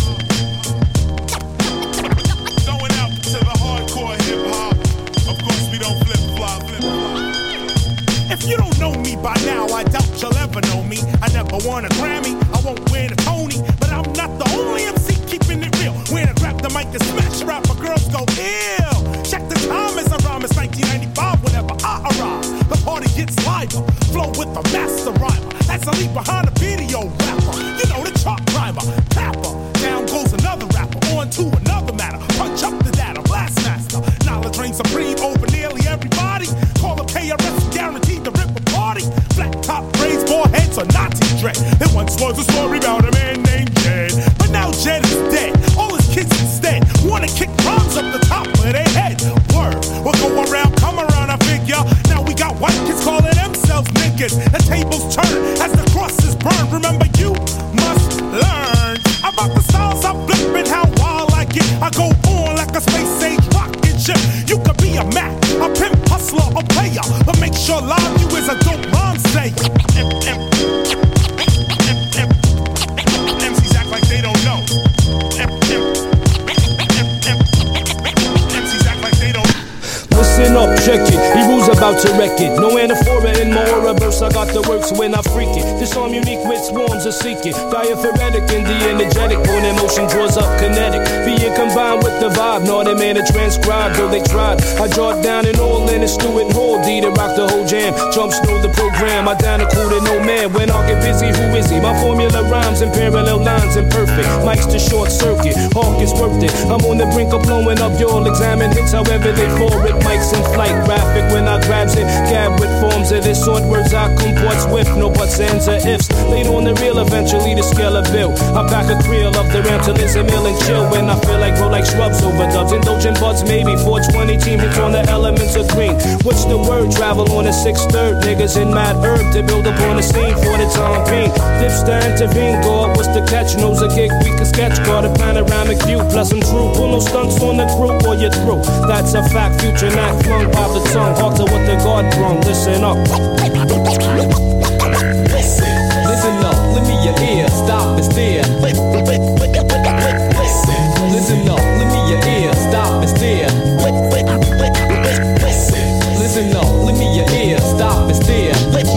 Going out to the hardcore hip hop. Of course we don't flip flop, flip flop. If you don't know me by now, I doubt you'll ever know me. I never won a Grammy, I won't win a Tony, but I'm not the only M C keeping it real. When I grab the mic and smash rapper, girls go ill. Check the time as I rhyme, it's nineteen ninety-five whenever I arrive. The party gets liver, flow with the master rhymer. As I leave behind a video rapper, you know the chart rhymer, tapper. Down goes another rapper, on to another matter. Punch up the data, blast master. Knowledge reigns supreme over nearly everybody. Call up K R S, guaranteed to rip a party. Flat top braids, bald heads, or Nazi dread. There once was a story about a man named Jed, but now Jed is dead. All his kids instead wanna kick rhymes up the top of their head. Word, we'll go around, come around, I figure. Now we got white kids calling themselves niggas. The tables turn as the crosses burn. Remember, you must learn about the styles I flip and how wild I get. I go on like a space age rocket ship. You could be a Mac, a pimp, hustler, a player, but make sure live you is a dope rhyme say. M Cs act like they don't know. Listen up, check it. He rules about to wreck it. No anaphora in my aura burst, I got the works when I freak it. This arm unique with swarms of seeking. Diaphoretic and the energetic, when emotion draws up kinetic. Being combined with the vibe, not a man to transcribe, though they tried. I draw it down and all in a stew and whole D to rock the whole jam. Jumps through the program, I down a cool to no man. When I get busy, who is he? My formula rhymes and parallel lines imperfect. Mike's the short circuit, Hawk is worth it. I'm on the brink of blowing up, you'll examine hits however they fall it. Mike's in flight, graphic when I grabs it. Gab with forms of this sort, words I comport swift. No buts, ands, or ifs. Later on the real, eventually the scale of bill. I back a creel of the ram to listen, mill and chill. When I feel like grow like shrubs, overdubs, indulgent buds, maybe four twenty team hits on the elements of green. What's the word? Travel on a six third. Niggas in mad herb to build up on the scene for the time being. Dips to intervene, go up, what's the catch? Knows a gig we can sketch, got a panoramic view. Plus I'm true, pull no stunts on the crew or you're through. That's a fact, future not flung by the tongue. Hard to what the God brung, listen up. Listen up, let me your ear, stop and stare. Listen up, let me your ear, stop and stare. Listen up, let me your ear, stop and stare.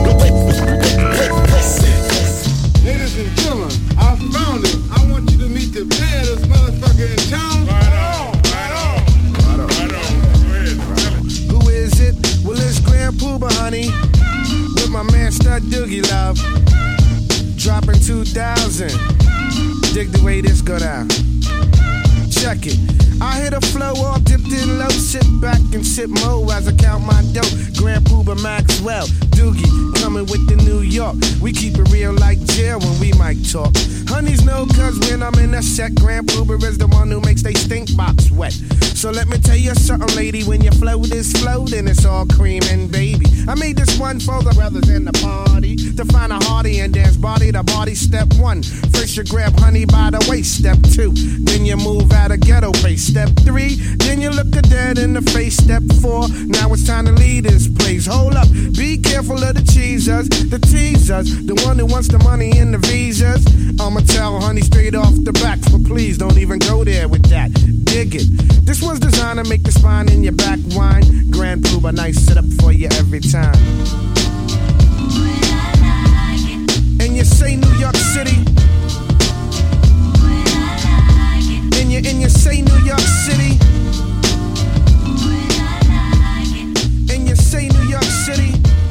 Ladies and gentlemen, I found him. I want you to meet the baddest motherfucker in town. Right on, right on, right on, right on. Go ahead, tell it. Who is it? Well, it's Grand Pooba, honey. With my man Stud Doogie Love. Dropping two thousand. Dig the way this go down. Check it. I hit a flow all dipped in low. Sit back and sip mo as I count my dough. Grand Pooba Maxwell, Doogie, coming with the New York. We keep it real like jail when we might talk. Honeys know cause when I'm in a set, Grand Pooba is the one who makes they stink box wet. So let me tell you something, lady, when you flow this flow, then it's all cream and baby. I made this one for the brothers in the party to find a hearty and dance body to body. Step one, first you grab honey by the waist. Step two, then you move out of ghetto pace. Step three, then you look a dead in the face. Step four, now it's time to leave this place. Hold up, be careful of the cheesers, the teasers, the one who wants the money and the visas. I'ma tell honey straight off the back, but please don't even go there with that. Dig it. This one's designed to make the spine in your back whine. Grand Pooba, nice setup for you every time. And you say New York City. And you, and you say New York City. And you say New York City.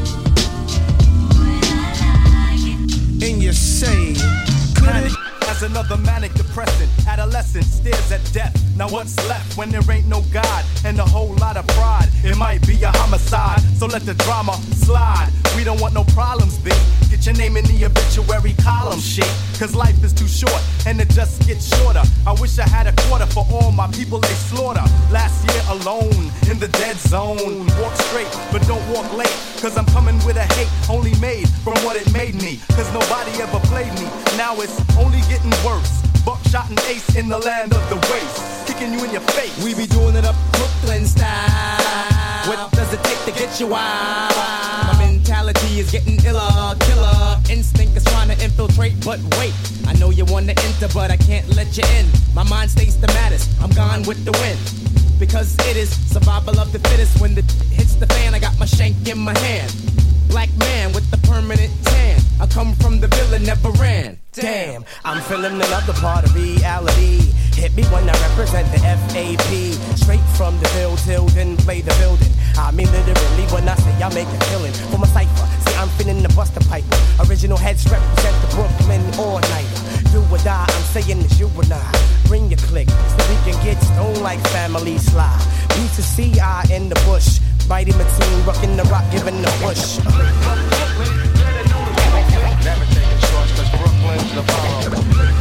And you say, could it? As another manic depressant, adolescent stares at death. Now what's left when there ain't no God and a whole lot of pride? It might be a homicide, so let the drama slide. We don't want no problems, B. Get your name in the obituary column, shit. Cause life is too short and it just gets shorter. I wish I had a quarter for all my people they slaughter. Last year alone in the dead zone. Walk straight, but don't walk late. Cause I'm coming with a hate only made from what it made me. Cause nobody ever played me. Now it's only getting worse. Buckshot and ace in the land of the waste. Kicking you in your face. We be doing it up Brooklyn style. What does it take to get you wild? My mentality is getting iller, killer. Instinct is trying to infiltrate, but wait. I know you want to enter, but I can't let you in. My mind stays the maddest. I'm gone with the wind. Because it is survival of the fittest. When the hits the fan, I got my shank in my hand. Black man with the permanent tan. I come from the villain, never ran. Damn, I'm feeling another part of reality. Hit me when I represent the F A P. Straight from the bill till then play the building. I mean literally when I say I make a killing. For my cipher, see I'm finna the buster pipe. Original heads represent the Brooklyn all-nighter. Do or die, I'm saying it's you and I. Bring your click so we can get stoned like family slide. B to C I in the bush. Mighty Mateen rocking the rock, giving the push. Never taking shorts cause Brooklyn's the borough.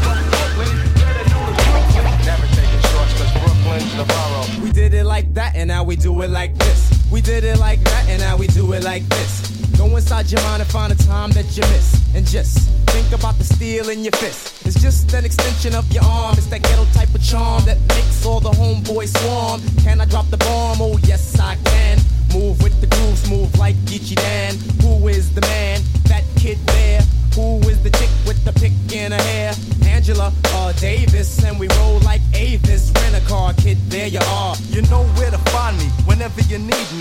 Never taking shorts cause Brooklyn's the borough. We did it like that and now we do it like this. We did it like that and now we do it like this. Go inside your mind and find a time that you miss. And just think about the steel in your fist. It's just an extension of your arm. It's that ghetto type of charm that makes all the homeboys swarm. Can I drop the bomb? Oh yes I can. Move with the groove, smooth like Geechee Dan. Who is the man? That kid there. Who is the chick with the pick in her hair? Angela uh, Davis, and we roll like Avis. Rent a car, kid, there you are. You know where to find me whenever you need me.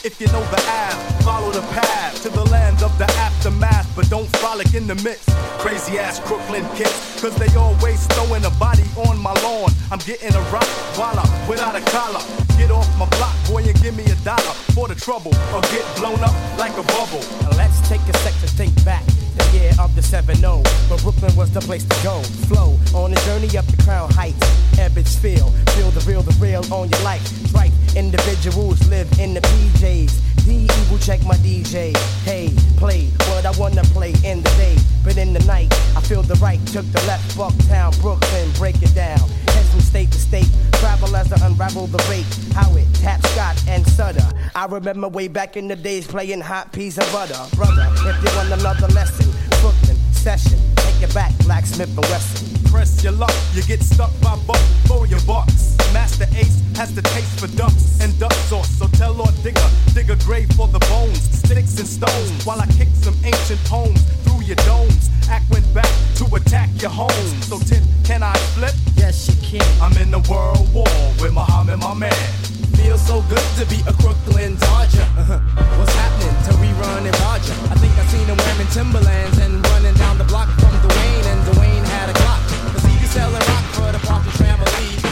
If you know the app, follow the path to the land of the aftermath, but don't frolic in the midst. Crazy ass Crooklyn kids, cause they always throwing a body on my lawn. I'm getting a rock walla without a collar. Get off my block, boy, and give me a dollar for the trouble, or get blown up like a bubble. Now let's take a sec to think back. The year of the seven oh, but Brooklyn was the place to go. Flow on a journey up the Crown Heights. Ebbets feel, feel the real, the real on your life. Right, individuals live in the P Js. The evil check my D J. Hey, play what I wanna play in the day, but in the night I feel the right. Took the left, Bucktown, Brooklyn, break it down. Head from state to state, travel as I unravel the rate. How it tap Scott and Sutter. I remember way back in the days playing hot peas and butter. Brother, if you want another lesson, Brooklyn session, take it back, Blacksmith and Wesson. Press your luck, you get stuck by buck for your bucks. Master Ace has the taste for ducks and duck sauce, so tell Lord Digger, dig a grave for the bones, sticks and stones, while I kick some ancient poems through your domes. Act went back to attack your home. So Tip, can I flip? Yes, you can. I'm in the world war with Muhammad, my man. Feels so good to be a Crooklyn Dodger. Uh-huh. What's happening to rerun and Roger? I think I seen him wearing Timberlands and running down the block from Dwayne, and Dwayne had a Glock. Cause he be selling rock for the Parker family.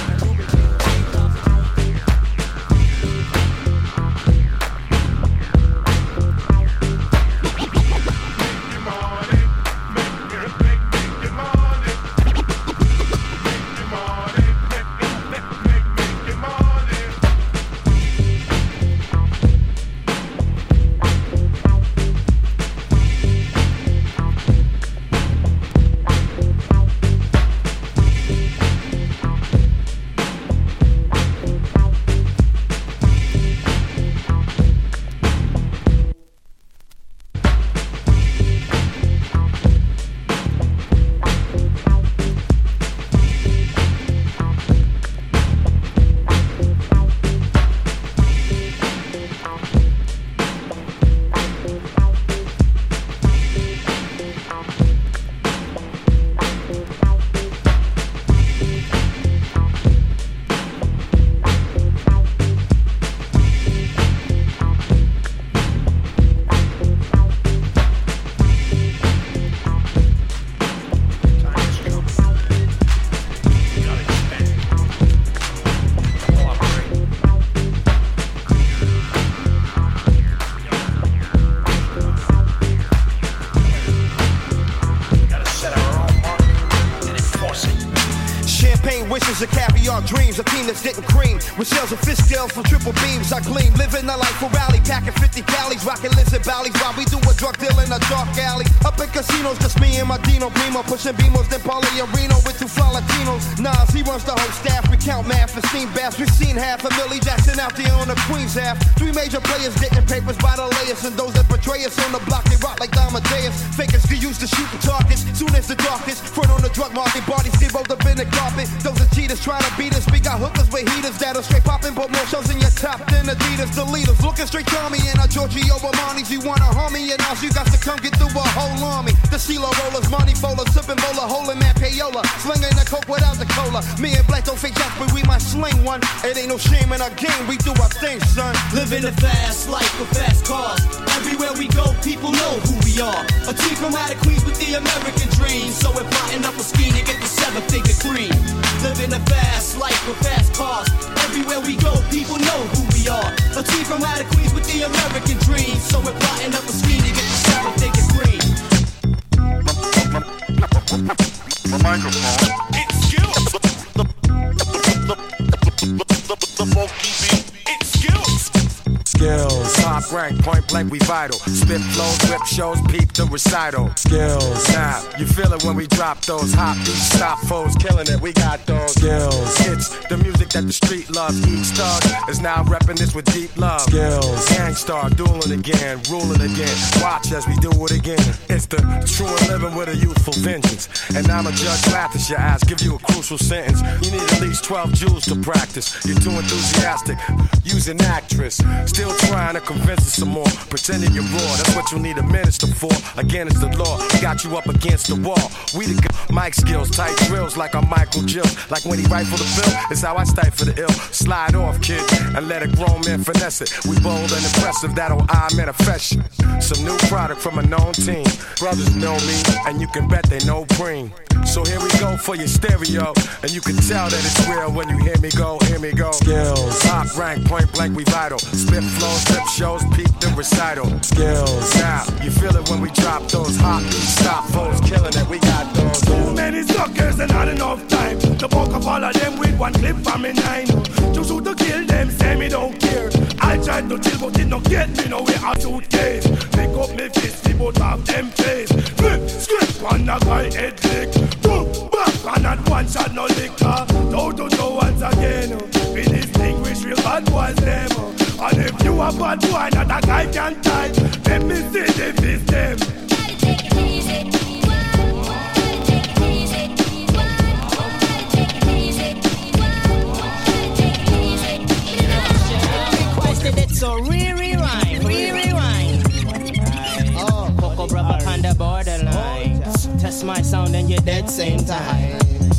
wishes of caviar dreams, a team that's getting cream with shells and fish scales from triple beams. I gleam, living a life for rally, packing fifty calories, rocking lizard valleys while we do a drug deal in a dark alley. Up in casinos, just me and my Dino Primo, pushing Beamos, then Paulie Areno with two fly Latinos. Nas, he runs the whole staff, we count math and steam baths. We've seen half a Millie Jackson out there on the Queen's half. Three major players getting papers by the layers, and those that betray us on the block, they rock like Amadeus. Fakers get used to shooting targets, soon as the darkest. Front on the drug market, bodies get rolled up in the carpet. Those are cheaters trying to beat us. We got hookers with heaters that'll straight poppin', but more shows in your top than Adidas. The leaders looking straight to me and our Giorgio Armani's. You wanna harm me, and now you got to come get through a whole army. The CeeLo rollers, money bowlers, sipping bowler, holding that payola, slinging the coke without the cola. Me and Black don't fake shots, but we might sling one. It ain't no shame in our game, we do our thing, son. Living a fast life with fast cars. Everywhere we go, people know who we are. A team from out of Queens with the American dream. So we're plotting up a scheme to get the seven-figure cream. Living a fast life with fast cars. Everywhere we go, people know who we are. A team from out of Queens with the American dream. So we're plotting up a scheme to get the seven-figure cream. My microphone. It's skills. The, the, the, the funky beat. It's skills. Skills, top rank, point blank, we vital. Spit flows, whip shows, peep the recital. Skills, now you feel it when we drop those hot beats, stop foes, killing it. We got those skills. It's the music that the street loves. Each thug is now repping this with deep love. Skills, gangstar, dueling again, ruling again. Watch as we do it again. It's the true and living with a youthful vengeance. And I'm a judge, laugh at your ass, give you a crucial sentence. You need at least twelve jewels to practice. You're too enthusiastic, use an actress. Still trying to convince us some more, pretending you're raw. That's what you need a minister for. Again, it's the law. Got you up against the wall. We the Mic skills, tight drills like I'm Michael Jill. Like when he rifle the bill, it's how I stifle the ill. Slide off, kid, and let a grown man finesse it. We bold and impressive, that'll I manifest you. Some new product from a known team. Brothers know me, and you can bet they know Preem. So here we go for your stereo, and you can tell that it's real when you hear me go, hear me go. Skills, top rank, point blank, we vital. Spit flows, flip shows, peep the recital. Skills, now you feel it when we drop those hot stop foes, killing it. We got those. Too many suckers and not enough time. The bulk of all of them with one clip from me nine. To shoot to kill them, say me don't care. I tried to chill, but it don't get me nowhere. A suitcase, pick up me fist, me both of them face. Flip, script on the guy head lick. Boom, back, and not one shot no liquor. Toe to toe once again. We distinguish real bad boys them. And if you a bad boy, not a guy can tie. Let me see the fist them. Gotta take it easy. It's a re-rewind, re-rewind. Oh, Coco Brother on the borderline. Test my sound and you're dead same time.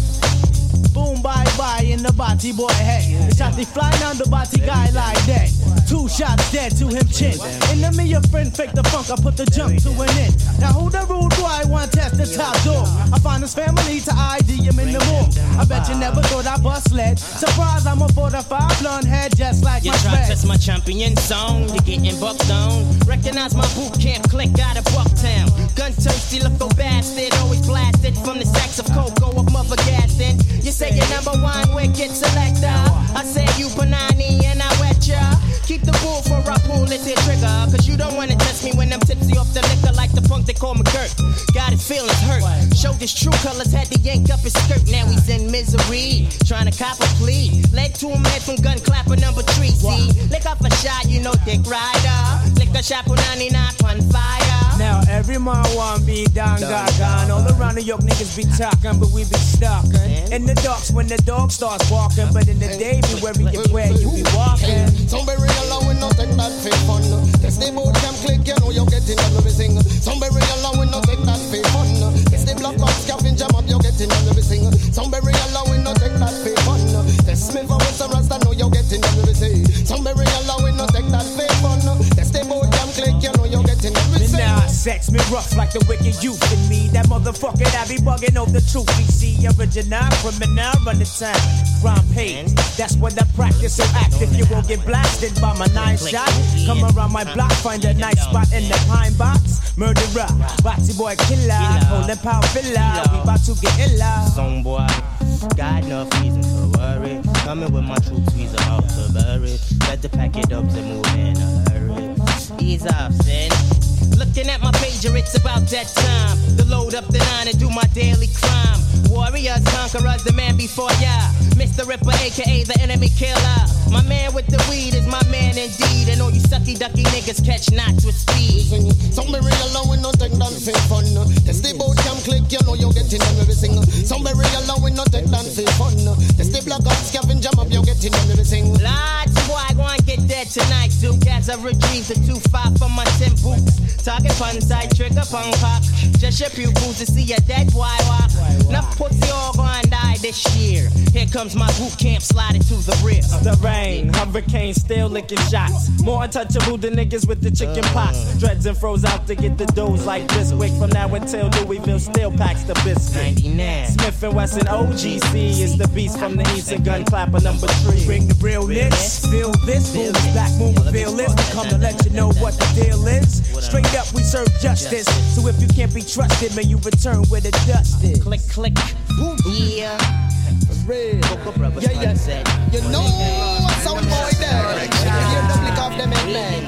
Boom, bye bye in the body boy head. The shot they fly down the body guy like that. Two shots dead to him chin. Enemy your friend fake the funk, I put the jump to an end. Now who the rude boy want test the top door? I find his family to I D him in the morgue. I bet you never thought I bust lead. Surprise, I'm a forty-five blonde head just like you my try to test my champion song, you're getting bucked on. Recognize my boot camp click out of Bucktown. Gun toasty, look go bastard, always blasted from the sacks of cocoa of mother gassing. You say you're number one wicked selector. I say you Panani and I wet ya. Keep the bull for I pull it to trigger. Cause you don't wanna test me when I'm tipsy off the liquor like the punk they call me Kurt. Got his feelings hurt. Showed his true colors, had to yank up his skirt. Now he's in misery, trying to cop a plea. Led to him head from gun clapper number three. See, lick up a shot, you know Dick Rider. Lick a shot for ninety-nine on fire. Now every man want be down, gaga. All around New York niggas be talking, but we be stalking. In the darks when the dog starts barking, but in the day be worried where you be walking. Somebody along with no take that fake fun. Yes, they both can click, you know you're getting everything. Somebody along with no take that fake fun. Yes, they block box scabbing jam up, you're getting everything. Somebody along with no take that fake fun. Yes, Smith and Wesson Rasta know you're getting everything. Somebody along with no take that fake fun. Yes, they both can click, you know you're getting everything. Now sex me rough like the wicked youth in me. That motherfucker that be bugging over the truth. We see original criminal run the time. Crime page, that's what I practice. So act if you won't get blasted by my nine shot. Come around my block, find a nice spot in the pine box. Murderer, Boxy boy killer, holding power villa. We about to get illa. Song boy, got enough reason to worry. Coming with my troops, we's about to bury. Better pack it up and move in a hurry. Ease off, sin. Looking at my pager, it's about that time to load up the nine and do my daily crime. Warriors, conquerors, the man before ya. Mister Ripper, aka the enemy killer. My man with the weed is my man indeed. And all you sucky ducky niggas catch knots with speed. Somebody along with no take that fake fun. Yes, they both can click, you know you're getting everything. Somebody along with no take that fake fun. Yes, they block out scabbing jam up, you're getting everything. Lots of boy, go and get that tonight, Duke. As I retrieve the two five from my ten boots. Talking fun side, trigger punk cock. Just your pupils to see a dead boy walk. Enough pussy all gonna die this year. Here comes my boot camp sliding to the rear. The rain, hurricane, still licking shots. More untouchable than niggas with the chicken pox. Dreads and froze out to get the doughs like Bisquick. From now until Louisville still packs the biscuit. ninety-nine Smith and Wesson O G C is the beast from the east and gun clapper number three. Bring the realness, feel this. Feel this black moon reveal this. We come to let you know what the deal is. Straight up, we serve justice. So if you can't be trusted, man, you return where the dust is. Click, click, boom, yeah. Real. Yeah, yeah. You know what's our boy there. You hear the flick of them men.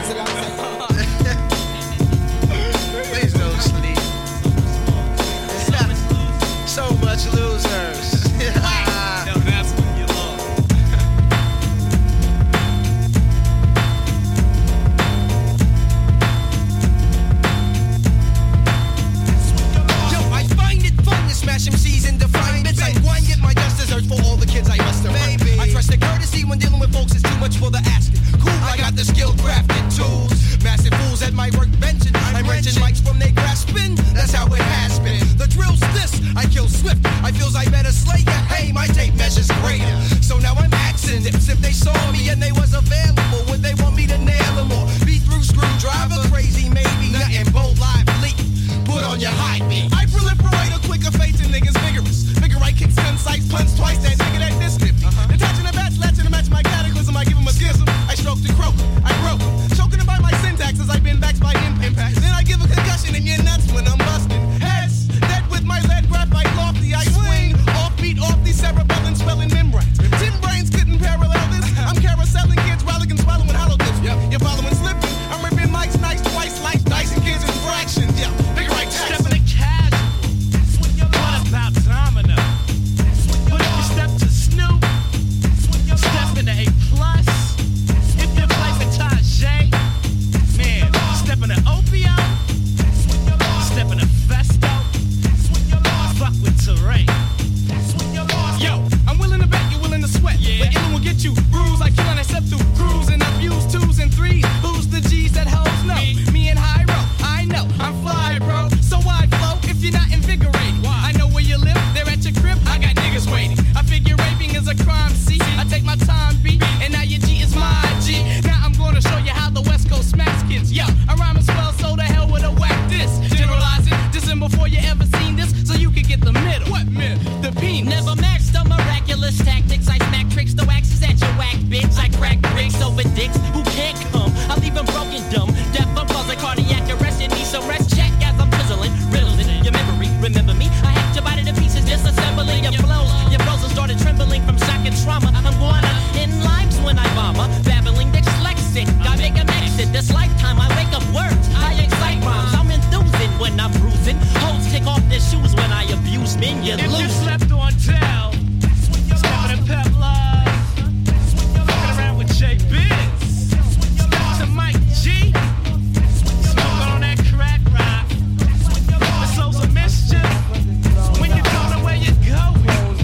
Please don't sleep. So much losers. No, that's what you love. Yo, I find it fun to smash M Cs and define bits. I want get my just desserts for all the kids I must have. Maybe I trust the courtesy when dealing with folks is too much for the asking. Cool, I got the skill crafted tools. Massive fools at my workbench and I'm wrenching mics from they grasping. That's how it has been. The drill's this. I I feels I better slay ya. Hey, my tape measures greater. So now I'm axing dips. If they saw me and they was available, would they want me to nail them or be through screwdriver? Crazy, maybe nothing bold, live, leak. Put on your high beat. I proliferate a quicker fate to niggas vigorous. Figure I kick gun sights, punch twice, that nigga that this nifty. Uh-huh. Detaching the bats, latching to match my cataclysm. I give him a schism. I stroke the croak. I broke. Choking him by my syntax as I've been backed by impact. Then I give a concussion in your nuts when I'm busting. Heads, dead with my lead graphite lofty. I swing off beat off these cerebellum swelling membranes. Tim brains couldn't parallel this. I'm carouseling kids, rollicking, swallowing hollow tips. Yep. You're following slipping. I'm ripping mics nice twice, like dicing kids in fractions. Yeah, figure right tax. Stepping a casual. What about domino? But if you step to Snoop, step into A plus. If you play for Tajay, man, step into Opio, step into Festo, fuck with Teray. Yo, I'm willing to bet you're willing to sweat. Yeah. But illin' will get you bruised like killing except through cruise and abuse twos and threes. Who's the G's that hoes know? Me, Me and Hyro, I know, I'm fly, bro. So why flow if you're not invigorating? Why? I know where you live, they're at your crib, I got niggas waiting. I figure raping is a crime, see? I take my time, beat, and now your G is my G. Now I'm gonna show you how the West Coast smacks kids. Yo, I rhyme as well, so the hell with a whack this. Generalize it, just in before you ever seen this, so you can get the middle. What middle? The penis. Never matched the miraculous tactics. I smack tricks, the waxes at your whack bitch. I crack bricks over dicks who can't come. I leave them broken, dumb, deaf, I'm buzzing, cardiac arrest. You need some rest, check as I'm fizzling, riddling your memory. Remember me? I hacked your body to pieces, disassembling your flows. Your frozen started trembling from shock and trauma. I'm going up in lives when I bomber, babbling dyslexic. I make a exit. This lifetime I wake up words. I excite rhymes. I'm enthusing when I'm bruising. Hoes take off their shoes when I abuse men. You if lose. you slept on tell, stepping in Pep Live, fucking around with J Biz, step to Mike G, smoking on that crack rock. The souls of mischief. When you don't know where you're going,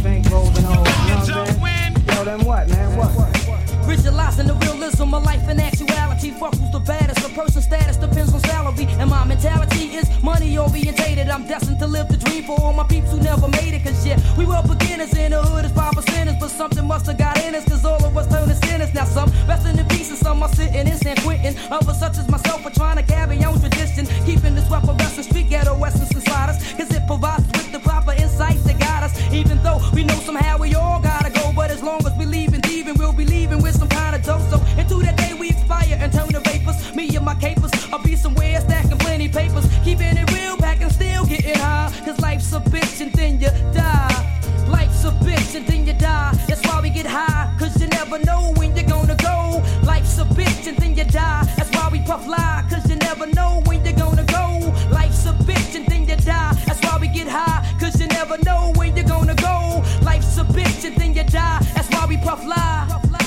when you don't win. Yo, then what, man? What? Visualizing the realism of life and actuality. Fuck who's the baddest. A person's status depends on salary. And my mentality is money orientated. I'm destined to live the dream for all my peeps who never made it. Cause yeah, we were beginners in the hood as five percenters. But something must have got in us. Cause all of us turned to sinners. Now some resting in peace and some are sitting in San Quentin. Others such as myself are trying to carry on tradition. Keeping this weapon wrestling street ghetto essence inside us. Cause it provides us with the proper insight to guide us. Even though we know somehow we all gotta go. But as long as we leaving thieving, we'll be leaving with some kind of dope. So into that day we expire and turn to vapors. Me and my capers, I'll be somewhere stacking plenty papers. Keeping it real, packing still getting high. Cause life's a bitch and then you die. Life's a bitch and then you die. That's why we get high. Cause you never know when you're gonna go. Life's a bitch and then you die. That's why we puff lie. Cause you never know when you're gonna go. Life's a bitch and then you die. That's why we get high. Cause you never know when you're gonna go. Life's a bitch and then you die. That's why we puff lie.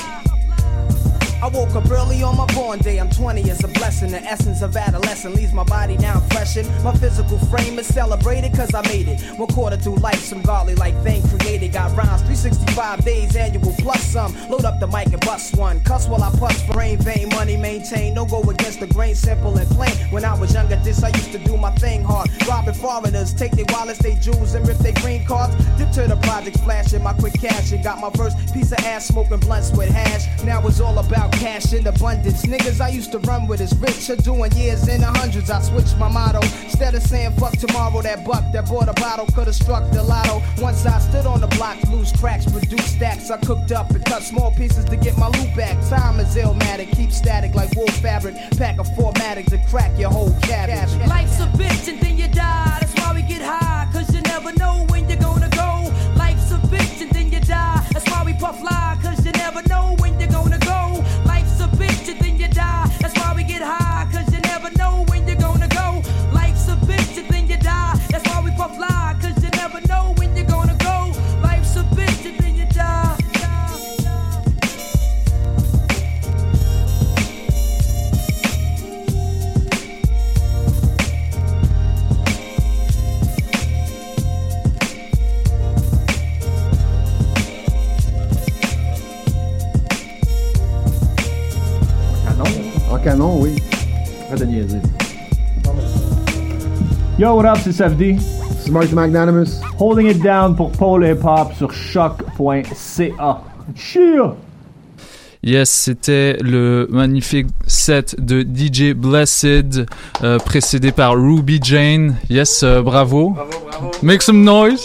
I woke up early on my born day. I'm twenty is a blessing. The essence of adolescence leaves my body down freshened. My physical frame is celebrated cause I made it. One quarter through life, some godly like thing created. Got rhymes, three sixty-five days annual plus some. Load up the mic and bust one. Cuss while I puss for rain, vein, money maintain. Don't go against the grain, simple and plain. When I was younger, this I used to do my thing hard. Robbing foreigners, take their wallets, they jewels, and rip their green cards. Dip to the projects, flashing my quick cash. And got my first piece of ass smoking blunts with hash. Now it's all about cash in abundance. Niggas I used to run with is rich. Are doing years in the hundreds. I switched my motto. Instead of saying fuck tomorrow, that buck that bought a bottle could've struck the lotto. Once I stood on the block, loose cracks, produced stacks. I cooked up and cut small pieces to get my loot back. Time is illmatic, keep static like wool fabric. Pack a formatic to crack your whole cabbage. Life's a bitch and then you die. That's why we get high. Cause you never know when you're gonna go. Life's a bitch and then you die. That's why we puff lie. Cause you never know when you're gonna go. Life's a bitch and then you die. That's why we get high. Cause you never know when you're gonna go. Life's a bitch and then you die. That's why we puff lie. Cause you never know when you're gonna go. Life's a bitch and then you die. En canon, oui. Arrête de niaiser. Yo, what up, c'est S F D. c'est Mark the Magnanimous. Holding it down pour Paul Hip Hop sur choc point c a. Cheer! Yes, c'était le magnifique set de D J Blessed, euh, précédé par Ruby Jane. Yes, euh, bravo. Bravo, bravo. Make some noise.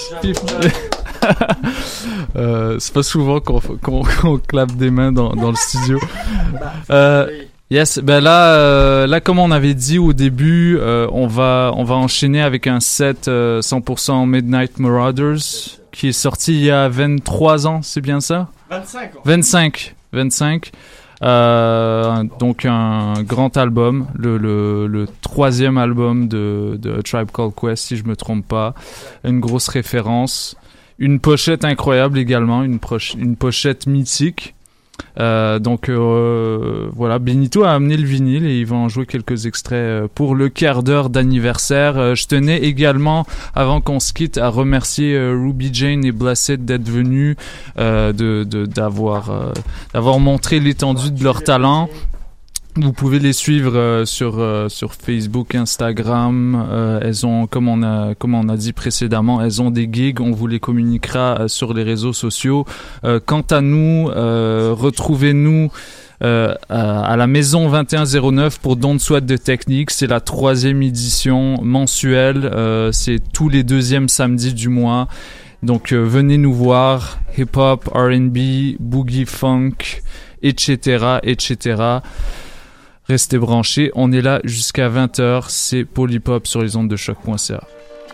euh, c'est pas souvent qu'on, qu'on, qu'on clappe des mains dans, dans le studio. Euh, yes, ben là, euh, là, comme on avait dit au début, euh, on va, on va enchaîner avec un set euh, cent pour cent Midnight Marauders qui est sorti il y a vingt-trois ans, c'est bien ça? vingt-cinq ans. vingt-cinq. vingt-cinq. Euh, donc un grand album, le, le, le troisième album de, de A Tribe Called Quest, si je me trompe pas. Une grosse référence. Une pochette incroyable également, une, proche, une pochette mythique. Euh, donc euh, voilà, Benito a amené le vinyle et il va en jouer quelques extraits pour le quart d'heure d'anniversaire. Euh, je tenais également, avant qu'on se quitte, à remercier euh, Ruby Jane et Blessed d'être venus, euh, de, de, d'avoir, euh, d'avoir montré l'étendue de leur talent. Vous pouvez les suivre euh, sur euh, sur Facebook, Instagram. Euh, elles ont, comme on a comme on a dit précédemment, elles ont des gigs. On vous les communiquera euh, sur les réseaux sociaux. Euh, quant à nous, euh, retrouvez-nous euh, à, à la Maison vingt et un zéro neuf pour Don't Sweat de Technique. C'est la troisième édition mensuelle. Euh, c'est tous les deuxièmes samedis du mois. Donc euh, venez nous voir. Hip-hop, R and B, boogie funk, et cetera, et cetera. Restez branchés, on est là jusqu'à vingt heures, c'est Polypop sur les ondes de choc point c a.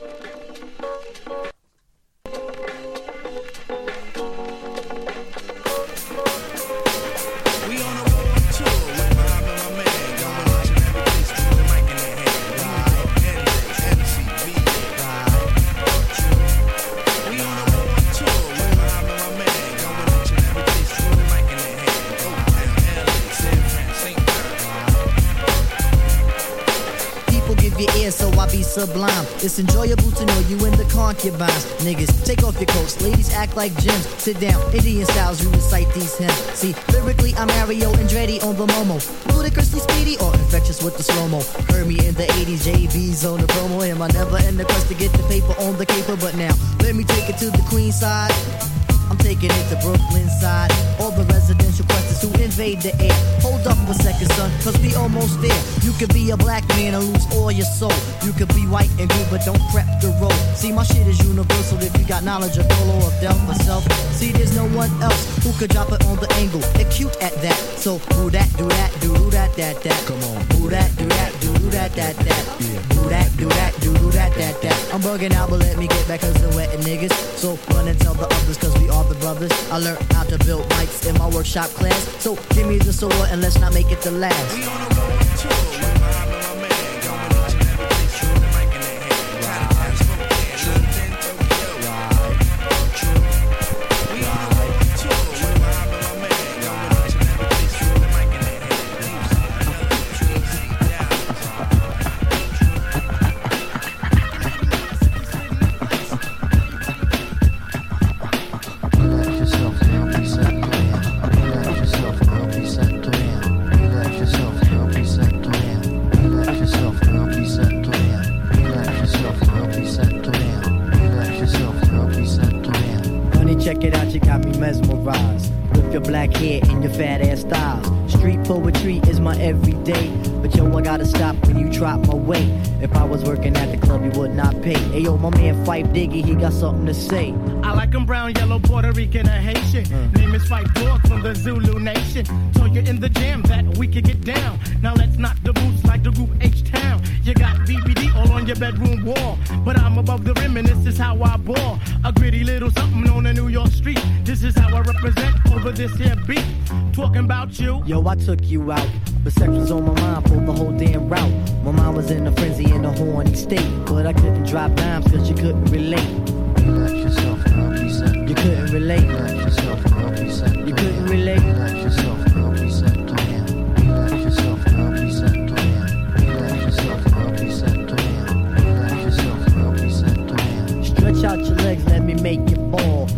Sublime. It's enjoyable to know you in the concubines. Niggas, take off your coats. Ladies act like gems. Sit down, Indian styles, you recite these hymns. See, lyrically, I'm Mario Andretti on the Momo. Ludicrously speedy or infectious with the slow-mo. Heard me in the eighties, J B's on the promo. Am I never in the quest to get the paper on the caper? But now, let me take it to the Queen side. I'm taking it to Brooklyn side. All the residential questions who invade the air. Hold up a second, son, cause we almost there. You could be a black man and lose all your soul. You could be white and good, but don't prep the road. See, my shit is universal if you got knowledge of Dolo or Del myself. See, there's no one else who could drop it on the angle. They're cute at that. So, do that, do that, do that, that, that. Come on. Do that, do that, do that, that, that. Do that, do that, do that, that, that. I'm bugging out, but let me get back cause they're wetting niggas. So, run and tell the others cause we are the brothers. I learned how to build mics in my workshop class. So give me the sword and let's not make it the last. We on a road tour. Diggy, he got something to say. I like him brown, yellow, Puerto Rican, or Haitian. Mm. Name is Fight Dog from the Zulu Nation. Told you in the jam that we could get down. Now let's knock the boots like the group H-Town. You got D V D all on your bedroom wall. But I'm above the rim and this is how I ball. A gritty little something on a New York street. This is how I represent over this here beat. Talking about you. Yo, I took you out. But sex was on my mind for the whole damn route. My mind was in a frenzy in a horny state. But I couldn't drop dimes cause you couldn't relate. Relax yourself, girl, please. You couldn't relate. Relax yourself, girl, please. You couldn't relate. Relax yourself, girl, please. Relax yourself, girl, please. Relax yourself, girl, please. Relax yourself, girl, please. Stretch out your legs, let me make you fall. Drop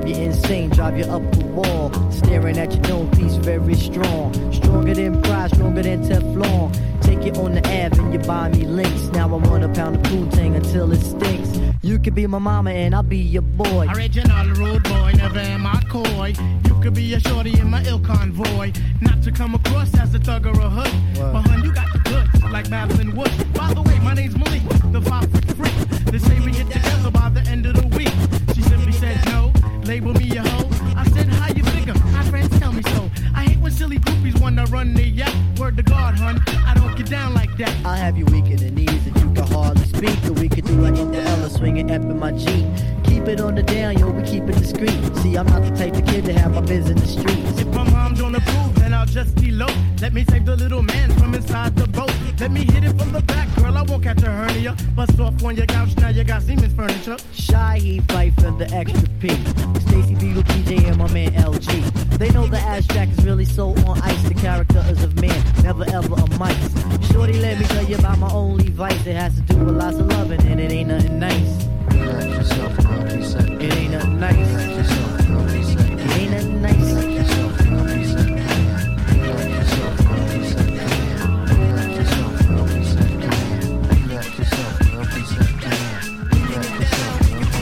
you insane, drive you up the wall. Staring at your known piece, very strong. Stronger than pride, stronger than Teflon. Take it on the Ave and you buy me links. Now I want a pound of Poontang until it stinks. You could be my mama and I'll be your boy. Original road boy, never am I coy. You could be a shorty in my ill convoy. Not to come across as a thug or a hood. What? But hun, you got the goods, like Babylon Wood. By the way, my name's Malik, the five foot freak. They say we get together by the end of the week. She simply said no, label me a hoe. I said, how you figure? My friends tell me so. I hate when silly groupies wanna run the yap. Word to God, hun, I don't get down like that. I'll have you weak in the knees that you can hardly speak. Or we could do like in the Ella, swinging up in my Jeep. Keep it on the down, yo, we keep it discreet. See, I'm not the type of kid to have my biz in the streets. If my mom don't approve, then I'll just elope. Let me save the little man from inside the boat. Let me hit it from the back, girl, I won't catch a hernia. Bust off on your couch, now you got Siemens furniture. Shy, he fight for the extra P. Stacy B with P J and my man L G. They know the ass jack is really so on ice. The character is of man, never ever a mice. Shorty, let me tell you about my only vice. It has to do with lots of loving and it ain't nothing nice. Relax yourself, girl, he said. It ain't nothing nice. Relax yourself, girl, he said. It ain't nothing nice. Relax yourself, girl, he said. Relax yourself, girl, he said. Relax yourself, girl, he said. Relax yourself, girl, he said. Relax yourself, girl, he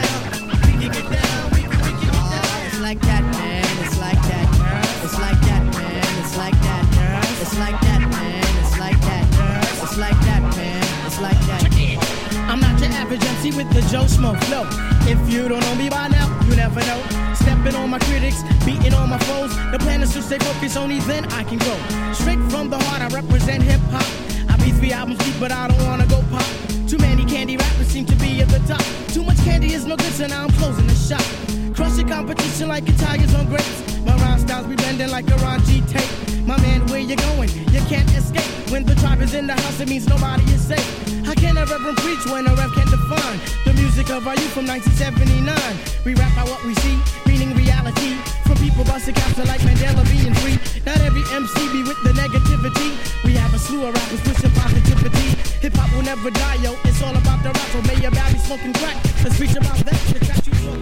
said. It's like that, man. It's like that. It's like that, man. It's like that. It's like that, man. It's like that. It's like that, man. It's like that. I'm not your average M C with the Joe Smoke flow. If you don't know me by now, you never know. Stepping on my critics, beating on my foes. The plan is to stay focused, only then I can go. Straight from the heart, I represent hip hop. I be three albums deep, but I don't wanna go pop. Too many candy rappers seem to be at the top. Too much candy is no good, so now I'm closing the shop. Crush the competition like Italians on grapes. My rhyme styles be bending like a Ron G tape. My man, where you going? You can't escape. When the tribe is in the house, it means nobody is safe. How can a reverend preach when a rep can't define the music of our youth from nineteen seventy-nine? We rap by what we see, meaning reality. From people busting capture like Mandela being free. Not every M C be with the negativity. We have a slew of rappers pushing positivity. Hip hop will never die, yo. It's all about the rap. So may your body smoking crack. Let's preach about that. The track you smoke.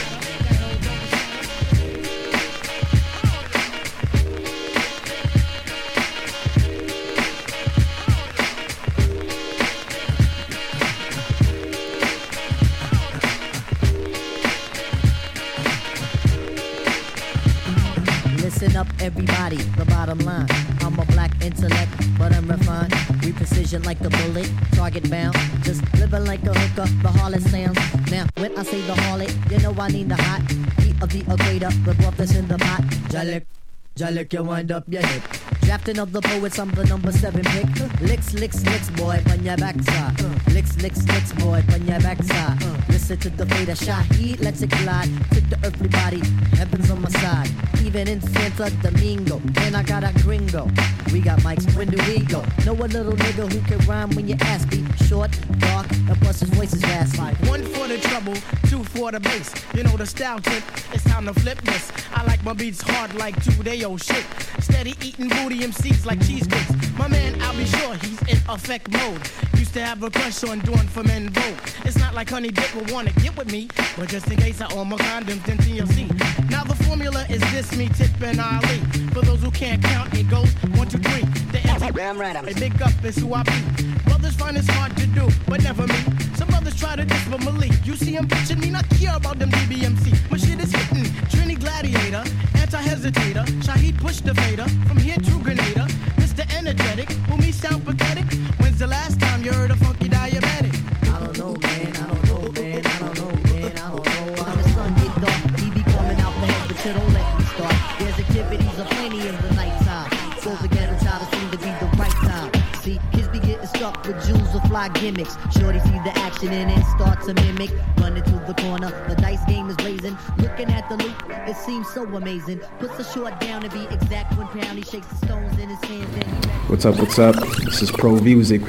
Listen up, everybody, the bottom line. I'm a black intellect, but I'm refined. We precision like a bullet, target bound. Just living like a hooker, the harlot sounds. Now, when I say the harlot, you know I need the hot heat of the equator, the broth that's in the pot. Jalik, Jalik, you wind up your hip. Drafting of the poets, I'm the number seven pick. Licks, licks, licks, boy, on your backside. Licks, licks, licks, boy, on your backside. Listen to the fate of Shaheed, let's it glide. Took the earthly body, heaven's on my side. Even in Santo Domingo, and I got a gringo. We got mics, when do we go? Know a little nigga who can rhyme when you ask me. Short, dark, and plus his voice is raspy. One for the trouble, two for the bass. You know the style tip, it's time to flip this. I like my beats hard like two-day-old shit. Steady eating booty M Cs like cheesecakes. My man, I'll be sure he's in effect mode. Used to have a crush on doing for men vote. It's not like Honey Dick will wanna get with me, but just in case I own my condoms, then T L C. Now the formula is this, me, Tip, and Ali. For those who can't count, it goes one, two, three. The answer, Damn right, I'm a big up is who I be. Brothers find it's hard to do, but never me. Some brothers try to diss, but Malik, you see him bitching me, not care about them D B M C. My shit is hitting, Trini Gladiator, anti-hesitator, Shaheed push the Vader, from here to Grenada, Mister Energetic, who me sound pathetic. When's the last time you heard a funky diabetic? I don't know, man, I don't know, man, I don't know, man, I don't know. When the sun get dark, he be coming out the head, but you don't let me start. There's activities aplenty in the nighttime. So again, it's how to seem to be the right time. See, kids be getting stuck with jewels or fly gimmicks. Shorty see the action and then start to mimic. Running to the corner, the dice game is blazing. Looking at the loop, it seems so amazing. Puts a short down to be exact when Pound he shakes the stones in his hands. And he What's up, what's up? This is Pro Music.